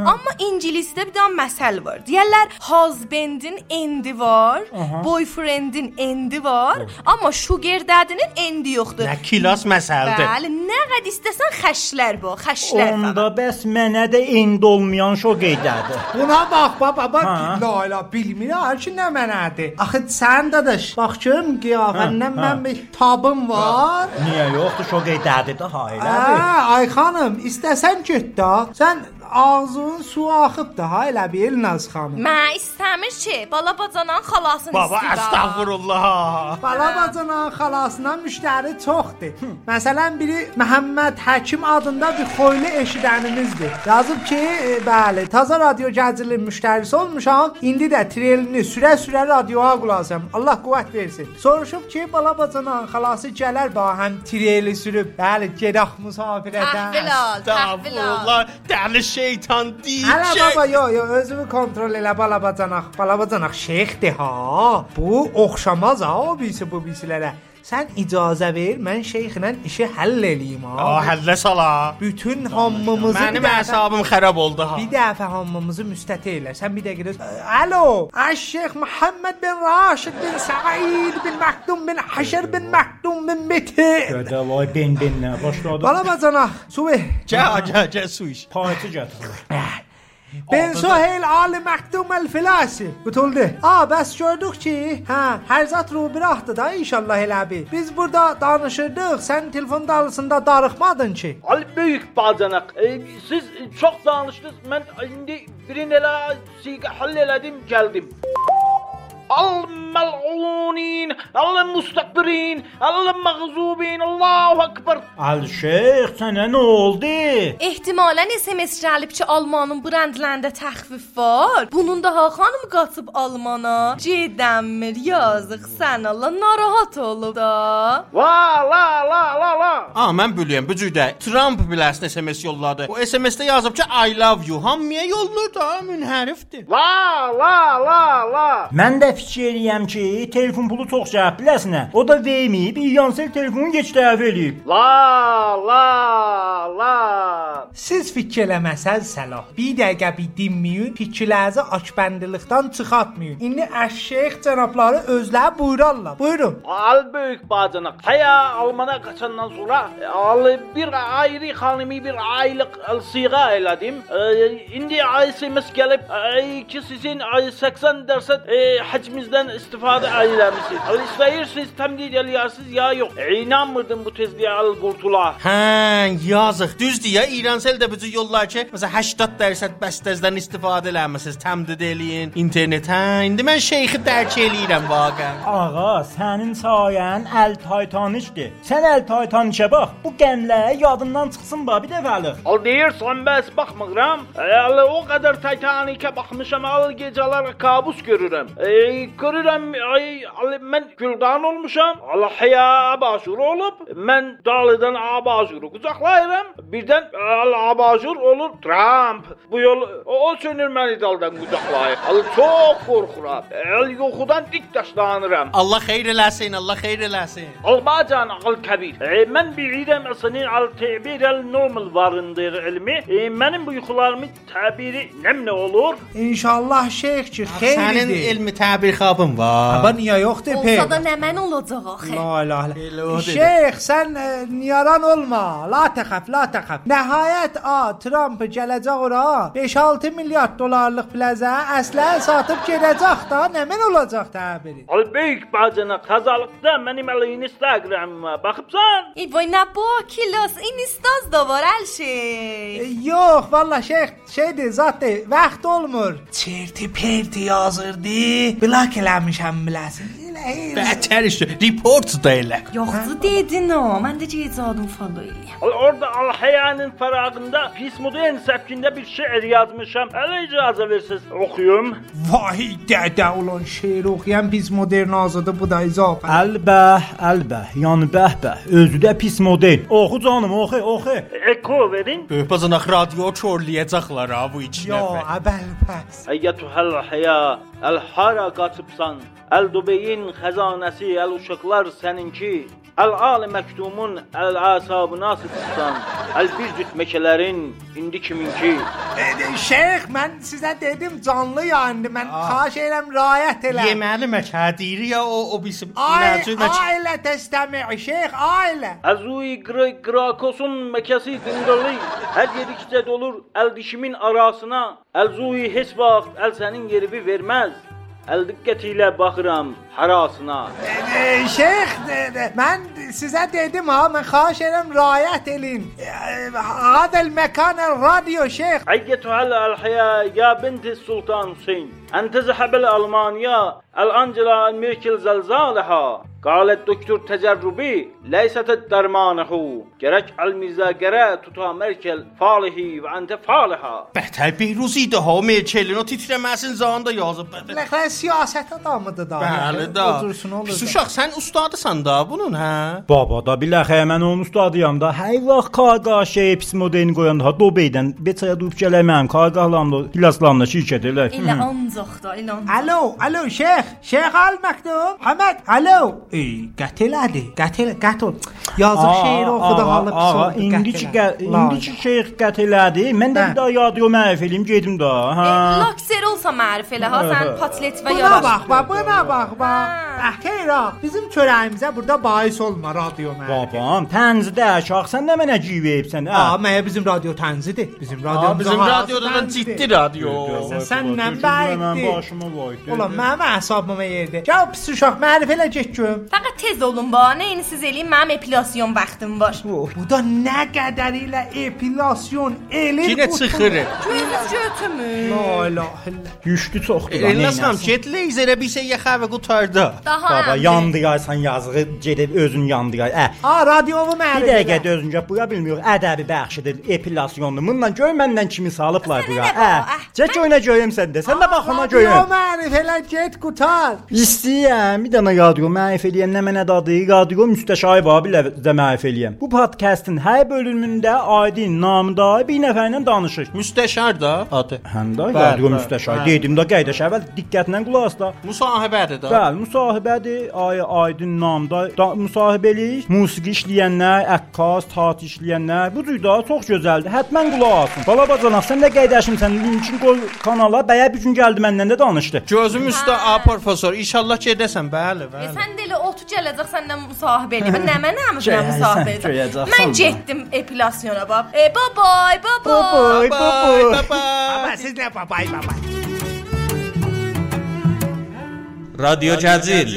Amma ingilisdə bir dənə məsəl var. Deyirlər husband'in endi var, boyfriend'in endi var, amma sugar daddy'nin endi yoxdur. Nə kilas məsəldir. Bəli, nə qədər istəsən xəşlər bu, xəşlər. Onda bəs mənə də endi olmayan sugar daddy. Buna bax, baba, la bilmirəm ki nə mənədir. Axı sən dadaş, bax görüm qiyafəndən mən bir tabım var. Niyə yoxdur sugar daddy də hayladır. Ay xanım, istəsən get də. Sən ağzın su axıb da elə bir Elnaz xanım. Mən istəmir ki, balabacanan xalasını Baba, istəyirəm. əstəğfurullah. Balabacanan xalasına müştəri çoxdur. Məsələn, biri Məhəmməd Həkim adında bir xoylu eşidənimizdir. Yazıb ki, bəli, taza radio gəzirli müştərisi olmuşam. İndi də trelini sürə-sürə radioya qulaqasam. Allah qüvvət versin. Soruşub ki, balabacanan xalası gələr ba həm treli sürüb. Bəli, gedək musafirətə. Təhvil al. Dəli şeytan deyəcək. Hələ baba, yo, özümü kontrol elə balabacanaq. Balabacanaq şeyxdir ha. Bu oxşamaz ha o birisilərə. Sən icazə ver, mən şeyxlə işi həll eləyim ha. Həllə sala. Bütün hammımızı Mənim əsabım xarab oldu ha. Bir dəfə hammımızı müstəti elə. Sən bir dəqiqə alo. Şeyx Muhammed bin Raşid bin Said bin Maktum bin Haşer bin Maktum bin Meti. Gədə vay ben-benlə başladı. Balabacanaq, su ver. Gəl su iç. Payçı gətir. Ben Suheyl Ali Maktum el-Filasi. Qutuldu. Bəs gördük ki, hər zat rubiraxdır da inşallah elə bir. Biz burada danışırdıq, sən telefon dalısında darıxmadın ki. Ali böyük bacanaq. Siz çox danışdınız. Mən indi birini elə siqə hall elədim, gəldim. Al-mal'unin, al-mustakbirin, al-mağzubin, Allahu akbar. Şeyx, sənə nə oldu? Ehtimalən SMS gəlib ki, Almanın brendlərində təxfif var. Bunun daha xanım qaçıb Almana. Gedəmmir, yazıq sən Allah narahat olub da. La. Mən bilirəm, bu cürdə Trump biləsin SMS yolladı. O SMS-də yazıb ki, I love you. Hamıya yollur da, münhərifdir. La. Mən də fikir eləyəm ki, telefon pulu çox cəhət biləsinə. O da verməyib, İyansel telefonu geç dəvə eləyib. La. Siz fikir eləməsəz səlah. Bir dəqiqə bir dinməyin, fikirlərinizi açbəndilikdən çıxartmayın. İndi əşşeyx cənabları özləri buyurarlar. Buyurun. Al böyük bacanaq. Haya Almana qaçandan sonra bir ayrı xanımı bir aylıq siğa elədim. İndi SMS gəlib ki sizin 80% həcmizdən istifadə eləmisiniz. İstəyirsiniz təmdid eləyirsiniz ya yox. İnanmırdım bu tezliyə al qurtula. Yazıq. Düzdür ya, İransel də bu yollar ki, məsələn 80% bəstəzdən istifadə eləmisiniz, təmdid eləyin internet. İndi mən şeyxi dərk eləyirəm vaqəən. Ağa, sənin sayən əl Titanicdir. Sən əl Titanicə bax, bu qəmlə yadından çıxsın bir dəfəlik. Al deyirsən bəs baxmıram. O qədər Titanicə baxmışam, gecələr kabus görürəm. Görürəm, mən güldan olmuşam. Allah haya abajur olub. Mən dalıdan abajuru qucaqlayıram. Birdən abajur olur Trump. Bu yol o sönür məni daldan qucaqlayır. Çox qorxuram. Yoxudan dik daşlanıram. Allah xeyir eləsin, Allah xeyir eləsin. Albacan al-kabir. Mən bilirəm sənin al-təbir el-normal varındır ilmi. Mənim bu yuxularımın təbiri nə olur? İnşallah şeyx ki, xeyridir. Sənin elmi təbir xabın var. Aba niyə yoxdur pey? Olsa da nə mən olacaq axı? La. Şeyx, sən niyaran olma. La təxəf. Nəhayət Trump gələcək ora 5-6 milyard dollarlıq plazə əslə satıb gedəcək da, nə mən olacaq təbiri? Al böyük bacanaq, tazalıqda mənim Instagramıma baxıbsan? Vay nə bu kilos, Instaz da var hər şey. Yox, valla şeydir, zatdır, vaxt olmur. Çerti perti yazırdı, blok eləmişəm biləsin. Bətər işte, report da elə. Yoxdur dedin o, mən də cezadım follow eləyəm. Orada Al-Hayanın fərağında pis modern səbkində bir şeir yazmışam. Hələ icazə versiz oxuyum. Vay dədə ulan şeir oxuyan pis modern azadı bu da izafə. Əlbəh, yəni bəh, özü də pis modern. Oxu canım, oxu. Eko verin. Böyük bacanaq radio çorlayacaqlar ha bu iki nəfər. Yo, əbəl pəs. Əyyətühəl həya, əl-hara qaçıbsan, əl-dubeyin xəzanəsi, əl-uşaqlar səninki. Əl-ali məktumun əl-əsabına sıçsan, əl-bir cüt meşələrin indi kiminki? Şeyx, mən sizə dedim canlı yayındı. Mən xahiş edirəm riayət elə. Yeməli məkədir ya o bizim Ailə təstəmi, şeyx, ailə. Əzuyi Grakosun məkəsi dindalı, hər yedikcə dolur əl dişimin arasına, əl-zuyi heç vaxt əl sənin yerivi verməz. Əl diqqət ilə baxıram harasına. Şeyx, mən sizə dedim ha, mən xahiş edirəm riayət edin. Hadal məkan radyo şeyx. Əyyətühəl əl-həyə ya binti Sultan Hüseyin. Əntə zəhəbəl Almaniya, əl-Angela Merkel zəlzaləhə. Qalət doktor təcərrübi, leysətət dərmanəhu. Gərək əl-mizəgərə tuta Merkel falihi və əntə falihə. Bəhətər Beyruziydi ha, Merkelin o titrəməsin zamanında yazıb. Ləxən siyasət adamıdır da. Bəli da. Pis uşaq, sən ustadısan da bunun, hə? Baba da biləxə, mən onun ustadıyam da. Hər vaxt qarqaşə pis modelini qoyanda ha, Dobeydən beçaya dub gələ mənim qarqahlamda, pilaslamda şirkət elə. Elə ancaq da, elə ancaq. Alo, şeyx, şeyx al məktub. Həməd, alo. Qətelədi, qətl. Yazıq şeiri oxudu halı pis oldu. İndiki şeyx qətelədi. Mən də bir daha yadro mərif eləyim, gedim da. Lakser olsa mərif elə ha, sən patlet və yaraş. Buna bax. Xeyr, bizim çörəyimizə burada bahis olma radyo mərif. Babam, tənzidə şax, sən nə mənə civəyibsən? Məyə bizim radyo tənzidir. Bizim radyodan ciddi radyo. Səndən bəyikdir. Başıma qoydu. Ulan, mənim əsabıma yerdir. Gəl pis uşaq, mərif elə get görüm. Fəqət tez olun ba, nəyinisiz eləyim, mənim epilasyon vaxtım var. Bu da nə qədər ilə epilasyon eləyir. Yenə çıxır. Gözünüz götümür. La ilahe illallah. Düşdü çoxdur. Elnasam, get leyzerə bir şey yaxavə qutardı. Baba, yandıraysan yazığı, gedib özün yandıray. Radyovu mərif. Bir dəqiqə dözüncə buya bilmiyor, ədəbi bəxşidir, epilasyondur. Bundan gör məndən kimi salıblar buya. Çək oyuna görüm səndə, sən də bax ona görüm. Radyo mərif elə get qutar. İstəyəm, bir dənə radyo mərif eləyəm, nə mənə dadı, radyo müstəşarı var, bilə mərif eləyəm. Bu podkastın hər bölümündə Aydın namında bir nəfərlə danışır. Müstəşar da adı. Həm də radyo müstəşarı. Dedim də qaydaş əvvəl diqqətlə qulaq as da. Müsahibədir da. Bəli, müsahibədir. Aydın namında müsahibəlik, musiqi işləyənlər, əqqas, teatr işləyənlər, bu cür da çox gözəldir. Həttəmən qulaq asın. Bala bacanaq, sən də qaydaşımsan, linkin qoy kanala, bəyə bir gün gəldi məndən də danışdı. Gözüm üstə professor, inşallah gedəsən, bəli. Sən də elə otu gələcək səndən müsahibə eləyib. Nə mənə müsahibə edəcək? Mən getdim epilasyona bax. Bye. Baba, siz nə bye. Radyo Cəzil.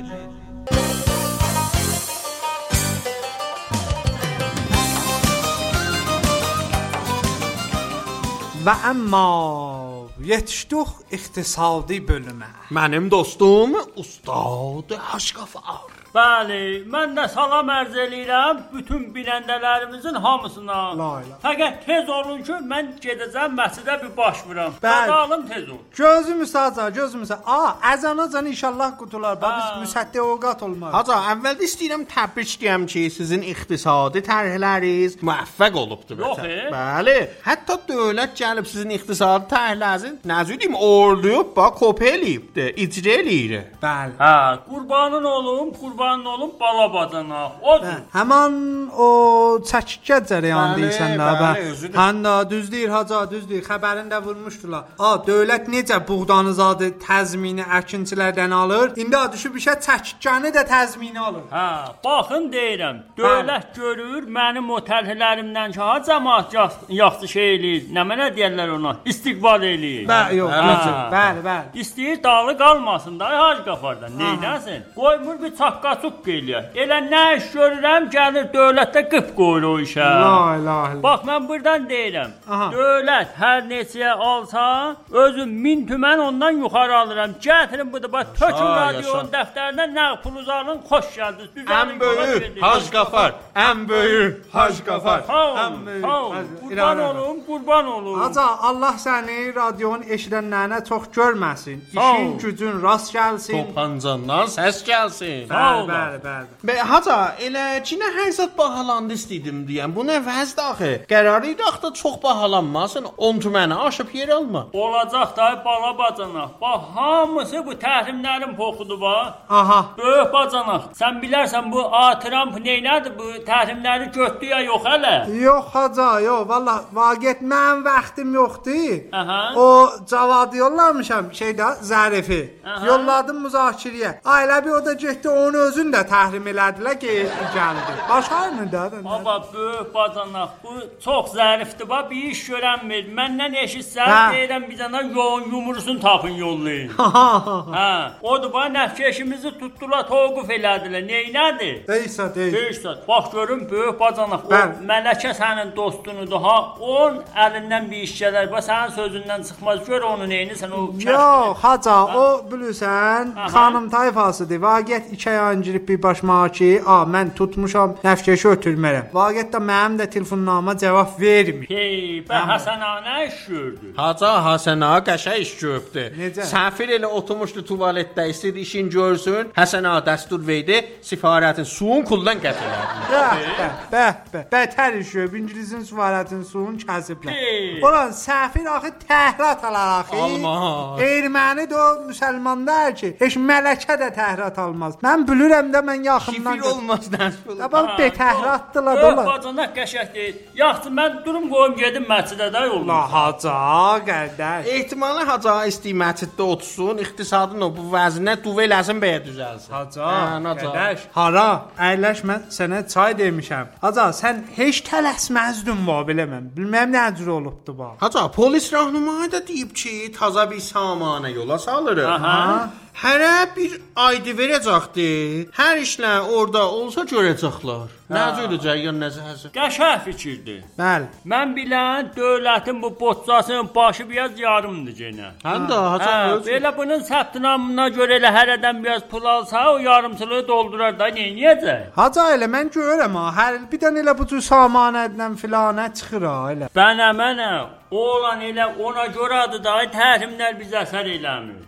Və əmma yetişdik iqtisadi bölümə. Mənim dostum Ustad Haşqafar. Bəli, mən də salam ərz eləyirəm bütün binəndələrimizin hamısına. Fəqət tez olun ki, mən gedəcəm məscidə bir baş vuram. Qadalım tez ol. Gözüm üstəca. Əzanacan inşallah qutular. Biz müsəddə ovqat olmaz. Haca, əvvəldə istəyirəm təbrik edəm ki, sizin iqtisadi tərhləriniz müvəffəq olubdur. Yox, Bəli, hətta dövlət gəlib sizin iqtisadi tərhlərinizin nəzüdüm orduyub, bax, kopya eləyibdir, icra eləyir. Bəli. Qurbanın olum bala bacana. Odur. Həman o çəkikə cərəyan deyirsən də. Bəli, Həndə düzdür, haca, düzdür. Xəbərində vurmuşdular. Dövlət necə buğdanızadı təzmini əkinçilərdən alır? İndi düşüb işə çəkikəni də təzmini alır. Baxın deyirəm. Dövlət görür mənim o tərhlərimdən ki, cəmaət yaxşı şey eləyir. Nə mənə deyirlər ona? İstiqbal eləyir. Bəli. İstəyir dalı qalmasın da Haşqafardan. Neynəsin? Qoymur bir çaqqa Çuq eləyər. Elə nə iş görürəm, gəlir dövlətdə qıp qoyur o işə. Bax, mən buradan deyirəm. Dövlət hər neçəyə alsa, özüm 1000 tümən ondan yuxarı alıram. Gətirin bu da, bax, tökün radionun dəftərindən nə puluz alın, xoş gəldiniz. Ən böyük Haşqafar. Ən böyük Haşqafar. Qurban olum. Haca, Allah səni radionun eşidənlərinə çox görməsin. İşin gücün rast gəlsin. Topancandan səs gəlsin. Sağ Bəli. Haca, elə cinə hər zət bahalandı istəydim deyəm. Bu nə vəzdir axı? Qərar idi axı çox bahalanmasın. 10 tüməni aşıb yer alma. Olacaq da bala bacanaq. Bax, hamısı bu təhrimlərin poxudur bax. Aha. Böyük bacanaq. Sən bilərsən bu Trump neylədir? Bu təhrimləri götdü ya yox hələ? Yox haca, yox. Vallah, vaqət mənim vaxtım yoxdur. Aha. O cavadı yollamışam şeydə Zərifi. Yolladım müzakirəyə. Ailə bir o da getdi onun özünü də təhrim elədilər ki, gəldi. Başarını da. Baba, böyük bacanaq. Bu çox zərifdir. Bax, bir iş görənmir. Məndən eşitsən, deyirəm bir dənə yoğun yumurusunu tapın yollayın. Hə. Odur bax, nəfkeşimizi tutdular, toquf elədilər. Neynədir? Deyirsə. Bax, görün, böyük bacanaq. O Mələkə sənin dostunudur. Ha, onun əlindən bir iş gələr. Bax, sənin sözündən çıxmaz. Gör onu neynirsən, o kəşdir. Yox, haca, o bilirsən, xanım tayfasıdır. Vaqət 2 ay öncə bir başmağa ki, mən tutmuşam, nəfkeşi ötürmərəm. Vaqət də mənim də telefonnama cavab vermir. Həsən ağa nə iş gördü? Haca, Həsən ağa qəşəng iş görübdü. Necə? Səfir elə oturmuşdu tualetdə, istəyirdi işin görsün. Həsən ağa dəstur verdi, sifarətin suyun kuldan gətirərdi. Bətər iş görüb, İngilizin sifarətin suyun kəsiblər. Ulan, səfir axı təhrat alar axı. Almaz. Erməni də o müsəlmanlar ki, heç mələkə də təhrat almaz. Mən bilirəm də mən yaxından... Şifir olmaz, nəsb olur. Bax, betəhratdılar da. Yox, bacanaq qəşək deyil. Yaxşı, mən durum qoyum gedim məscidə də yolum. La, haca, qardaş. Ehtimalı haca istəyir məsciddə otursun, iqtisadın o bu vəzinə duvel əzin bəyə düzəlsin. Haca, qardaş. Hara, əyləş mən sənə çay demişəm. Haca, sən heç tələsməzdin va belə mən. Bilməm nə cür olubdu bax. Haca, polis rəhnumayı da deyib ki, taza bir samanə yola salırıq. Aha. Hərə bir aydı verəcəkdi. Hər işlə orada olsa görəcəklər. Nə cürəcək ya nəzərsə. Qəşəng fikirdir. Bəli. Mən bilən dövlətin bu boççasının başı biraz yarımdır yenə. Həm də haca öz. Belə bunun səbtinamına görə elə hərədən biraz pul alsa o yarımçılığı doldurar da neyniyəcək? Haca elə mən görürəm ha. Hər il bir dənə elə bu cür samanədən filanə çıxır ha elə. Mənə oğlan elə ona görədir da təhrimlər bizə əsər eləmir.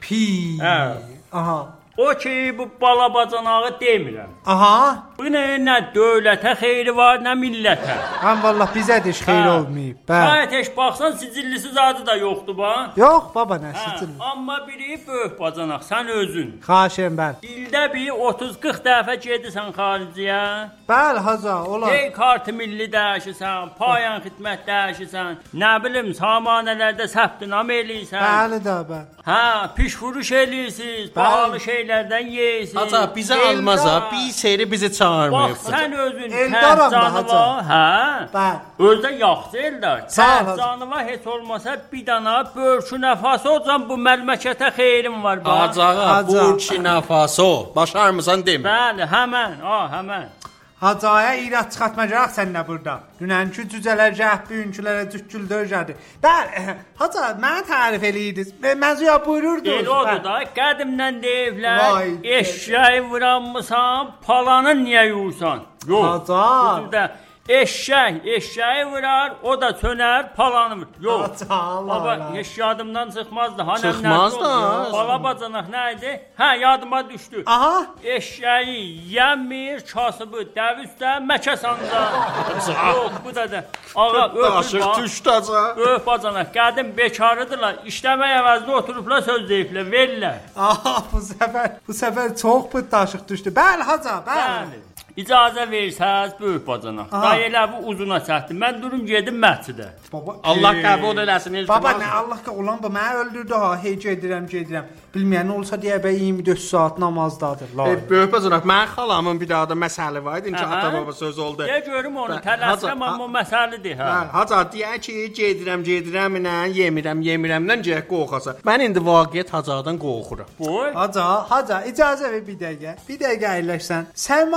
Aha. O ki bu bala bacanağı demirəm. Aha. Bu nə dövlətə xeyri var, nə millətə. Həm vallah bizə də heç xeyri olmayıb. Şayət heç baxsan sicillisi zadı da yoxdur bax. Yox baba nə sicilli. Amma biri böyük bacanaq sən özün. Xahişəm bəli. İldə bir 30-40 dəfə gedirsən xariciyə. Bəli haca olar. Kartı milli dəyişirsən, payan xidmət dəyişirsən, nə bilim samanələrdə səbtinam eləyirsən. Bəli də bəli. Pişfuruş eləyirsiniz, pahalı şeylərdən yeyirsiniz. Haca bizə almaz ha, bir seyri bizi çağırmayıb. Bax sən özün təhcanı var, Bəli. Özdə yaxşı eldar. Təhcanı var heç olmasa bir dana Burkina Faso olsan bu məmləkətə xeyrim var bax. Haca, Burkina Faso. Başarmısan demir. Bəli, həmən. Hacaya irad çıxartmayacaq sən də burada. Dünənki cücələr gəh bugünkülərə cükküldür gədi. Bəli, haca mənə tərif eləyirdiniz. Məzuya buyururdunuz. El odur da, qədimdən deyiblər, eşşəyi vuranmısan, palanı niyə yuyursan? Yox, haca. Eşşəyi vurar, o da sönər, palanı vurur. Yox, baba, heç yadımdan çıxmazdı. Çıxmaz da. Bala bacanaq nə idi? Yadıma düşdü. Aha. Eşşəyi yəmmir, kasıbı dəvüstə, məkə sanca. Yox, bu da da. Ağa, öpür düşdəcə. Öp bacanaq, qədim bekarıdırlar, işləmək əvəzində oturublar, söz deyiblər, verirlər. Aha, bu səfər çox pıttaşıq düşdü. Bəli, haca, bəli. İcazə versəz, böyük bacanaq. Day elə bu uzuna çətdim. Mən durum gedim məscidə. Allah qəbul eləsin. Baba, nə Allah olan bu, mənə öldürdü ha. Hey, gedirəm. Bilməyən olsa deyə bə 24 saat namazdadır. Böyük bacanaq, mən xalamın bir daha da məsələ var idi ki, ata-baba söz oldu. Deyə görüm onu, tələsəm, amma o məsələdir. Haca, deyək ki, gedirəm ilə, yemirəmdən gəh qorxasa. Mən indi vaqiət hacadan qorxuram. Haca, icazə ver bir dəqiqə. Bir dəqiqə əyləşsən. Sərmayə quzar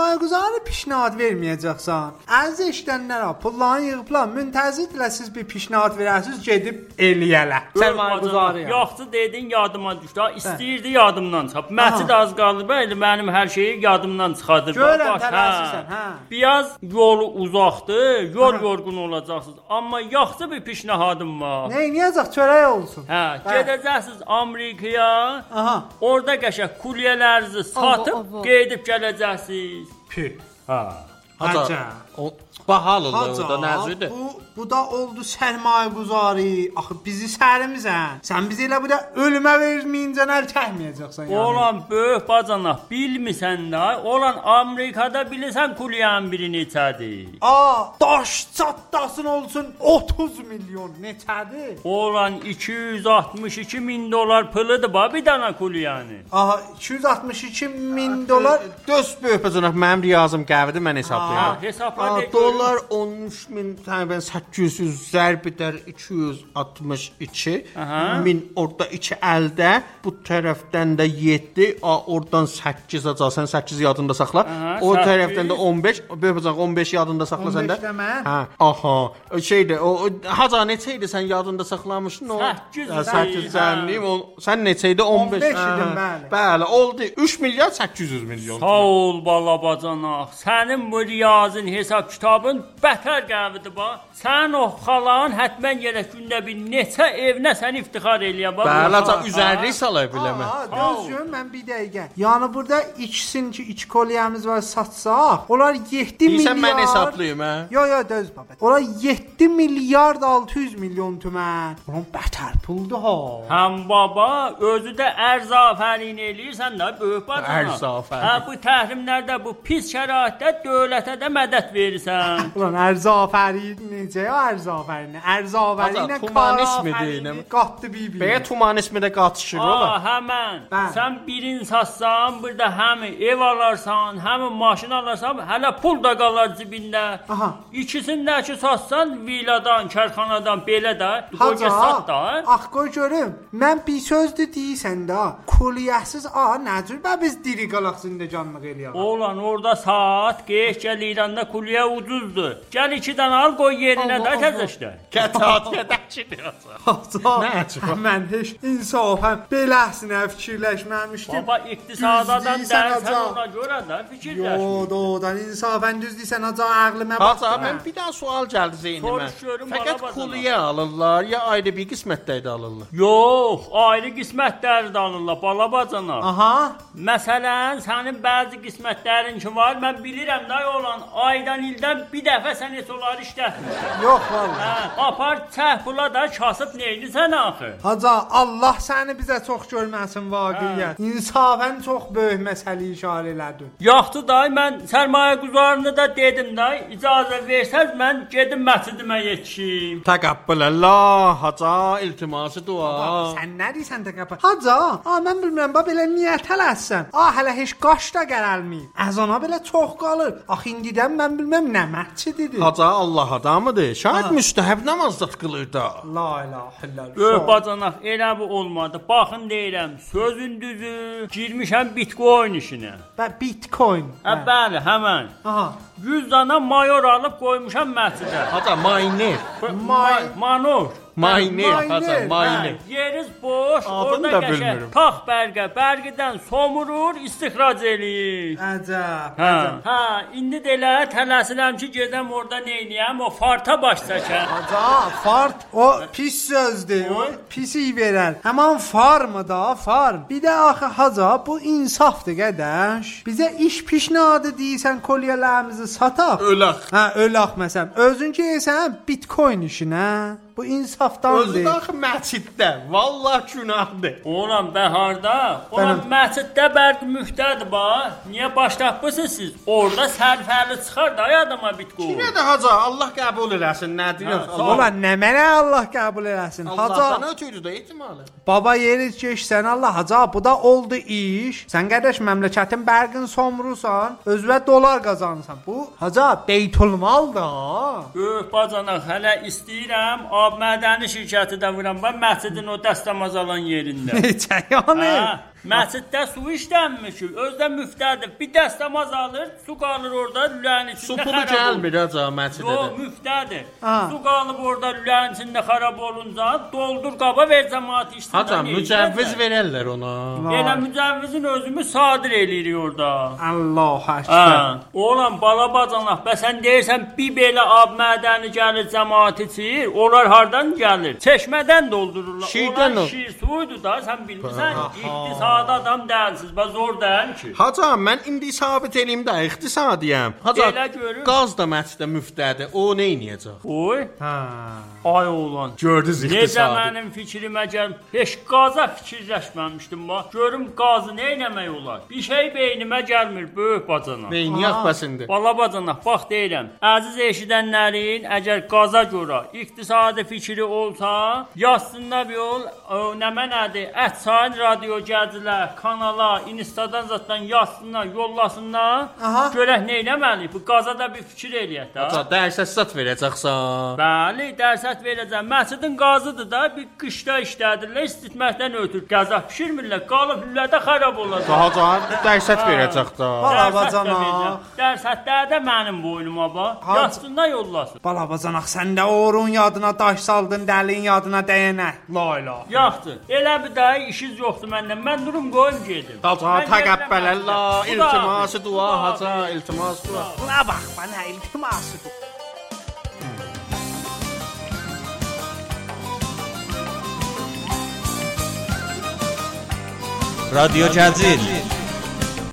Bunları pişnad verməyəcəksən. Əziz eşidənlərə, pullarını yığıblar, müntəzirdirlər siz bir pişnad verəsiniz, gedib eləyələ. Sərmayə quzarı. Yaxşı dedin, yadıma düşdü. İstəyirdi yadımdan çıxıb. Məscid az qaldı belə mənim hər şeyi yadımdan çıxardır. Görəm tələsisən, hə. Biraz yolu uzaqdır, yol yorğun olacaqsınız. Amma yaxşı bir pişnahadım var. Nə edəcək, çörək olsun. Hə, gedəcəksiniz Amerikaya. Aha. Orada qəşəng kulyələrinizi satıb gedib gələcəksiniz. Pü. Ha. Hacı. Bahalı da nəzirdir. Bu da oldu sərmayə quzarı. Axı bizi sərimizən. Sən bizi elə bu da ölümə verməyincə nəl çəkməyəcəksən yəni. Olan böyük bacanaq bilmirsən də, olan Amerikada bilirsən kulyanın biri neçədir? Daş çatlasın olsun 30 milyon neçədir? Olan 262 min dolar pılıdır ba bir dana kulyanı. 262 min dolar. Döz böyük bacanaq mənim riyazım qəvidir mən hesablayıram. Hesabla Dolar 13 min təqribən 800 zərb edər 262 min orada 2 əldə bu tərəfdən də 7 oradan 8 acasan 8 yadında saxla o tərəfdən də 15 böyük 15 yadında saxla sən də şeydə o haca neçə idi sən yadında saxlamışdın o 8 zəmliyim sən neçə idi 15 idim bəli oldu 3 milyar 800 milyon sağ ol bala bacanaq sənin bu riyazın hesab kitabın bətər qəvidir ba sən o xalan hətmən yerə gündə bir neçə evinə sən iftixar eləyən ba bəli üzərlik salay biləmə gözüm mən bir dəqiqə yəni burada ikisinin ki iç kolyemiz var satsaq onlar 7 milyar sən mən hesablayım hə yo döz babət onlar 7 milyard 600 milyon tümən bunun bətər puldur ha həm baba özü də ərzafərin eləyirsən də böyük bacanaq hə bu təhrimlərdə bu pis şəraitdə dövlətə də mədət verirsən ulan ərzafərin necə ərzafərin ərzafərinə tumanismi deyinəm qatdı bir bəyə tumanismi də qatışır ola həmən sən birin satsan burada həm ev alarsan həm maşın alarsan hələ pul da qalar cibində ikisindəki satsan villadan kərxanadan belə də qoca sat da qoy görüm mən bir sözdür deyirsən də kuliyyəsiz nə cür biz diri qalaq zindəcanlıq eləyək oğlan orada saat geç gəl İranda kuliyyə ucuzdur gəl 2 dənə al qoy yerinə də təzəşdə kətət kətəkçidir mən heç insafən beləsinə fikirləşməmişdim baba iqtisadadan dərsən ona görə də fikirləş doğrudan insafən düz deyirsən aca ağlıma bax mən bir daha sual gəldi zeynimə fəqət kuliyyə alırlar ya ayrı bir qismətdə alırlar yox ayrı qismətlərdə alırlar bala bacanaq məsələn sənin bəzi qismətlərin ki var mən bilirəm də olan aydan ildən bir dəfə sən heç onları işlətmirsən yox vallahi apar çəh pula da kasıb neylisən axı haca Allah səni bizə çox görməsin vaqiyyət insafən çox böyük məsələ işarə elədin yaxşı day mən sərmayə quzarını da dedim day icazə versəz mən gedim məscidimə yetişim təqəbbələllah haca iltiması dua sən nə deyirsən təqəbbül haca mən bilmirəm belə niyə tələssən hələ heç qaş da gəlməyib əzana belə çox qalır axı indidən mən bilməm nə məscididir haca Allah adamıdır şayad müstəhəb namaz da qılır da la ilahə illallah böyük bacanaq elə bu olmadı baxın deyirəm sözün düzü girmişəm bitcoin işinə bitcoin bəli həmən 100 dana mayor alıb qoymuşam məscidə haca mayner mayner yeriz boş orada qəşəng tax bərgədən somurur istixrac eləyir əcəb indi də elə tələsirəm ki gedəm orada neyniyəm o farta baş çəkəm fart o pis sözdür o pisi verər həman farmı da farm bir də axı haca bu insafdır qədəş bizə iş pişnadı deyirsən kolyələrimizi sataq ölaq məsələn özün gəlsən bitcoin işinə bu insafdandır. Özü daxı məsciddə. Vallah günahdır. Oğlan bəharda, oğlan məsciddə bərk müftədir bax. Niyə başlatmısınız siz? Orada sərfəli çıxar da adama bitqo. Kinə də haca Allah qəbul eləsin. Nə deyirsən? Oğlan nə mənə Allah qəbul eləsin? Allahdan ötürü də ehtimalı. Baba yeri keçsən Allah haca bu da oldu iş. Sən qardaş məmləkətin bərqin somrusan, özünə dolar qazanırsan. Bu haca beytulmal da. Böyük bacanaq hələ istəyirəm mədəni şirkəti də vuram. Mən məscidin o dəstəmaz alan yerində. Necə yəni? Məsciddə su işlənmiş. Özdə müftədir. Bir dəstəmaz alır, su qalır orada lülənin içində. Su pulu gəlmir aca məscidə. Yox, müftədir. Su qalıb orada lülənin içində xarab olunca doldur qaba ver cəmaət içsin. Haca mücəvviz verərlər ona. Elə mücəvvizin özümü sadir eləyirik orada. Allah əşkər. Oğlan bala bacanaq, bəsən deyirsən bir belə ab mədəni gəlir cəmaət içir. Onlar hardan gəlir? Çeşmədən doldururlar. Şirdən Onlar şir suydu da, sən bilmirsən. İqtisadi adam deyilsiz, bax zor deyil ki. Haca, mən indi sabit eləyim də iqtisadiyəm. Haca, qaz da məscidə müftədir. O nə edəcək? Oy. Ay oğlan. Gördünüz iqtisadi. Necə mənim fikrimə gəl. Heç qaza fikirləşməmişdim bax. Görüm qazı nə etmək olar? Bir şey beynimə gəlmir, böyük bacana. Beyniyaq bəsindi. Bala bacana, bax deyirəm. Əziz eşidənlərin, əgər qaza görə iqtisadi fikri olsa, yazsınlar yol, nə mənadır? Ətçayın radio gəzilər, kanala, instadan zatdan yazsınlar, yollasınlar. Görək nə etməli? Bu qaza da bir fikir eləyək də. Haca, dərsət verəcəksən. Bəli, dərsət verəcəm. Məscidin qazıdır da, bir qışda işlədirlər, istitməkdən ötür. Qəza pişirmirlər, qalıb lülədə xarab olacaq. Haca, dərsət verəcək də. Bala bacana. Dərsətlər də mənim boynuma bax. Yazsınlar, yollasın. Bala bacana, sən də orun yadına daş saldın, dəlin yadına dəyənə. La ilahe. Yaxşı. Elə bir daha işiniz yoxdur məndən. Mən durum qoyum gedim. Haca, təqəbbələllah, iltiması dua, haca, iltimas dua. Buna bax, bana iltiması dua. رادیو جزیل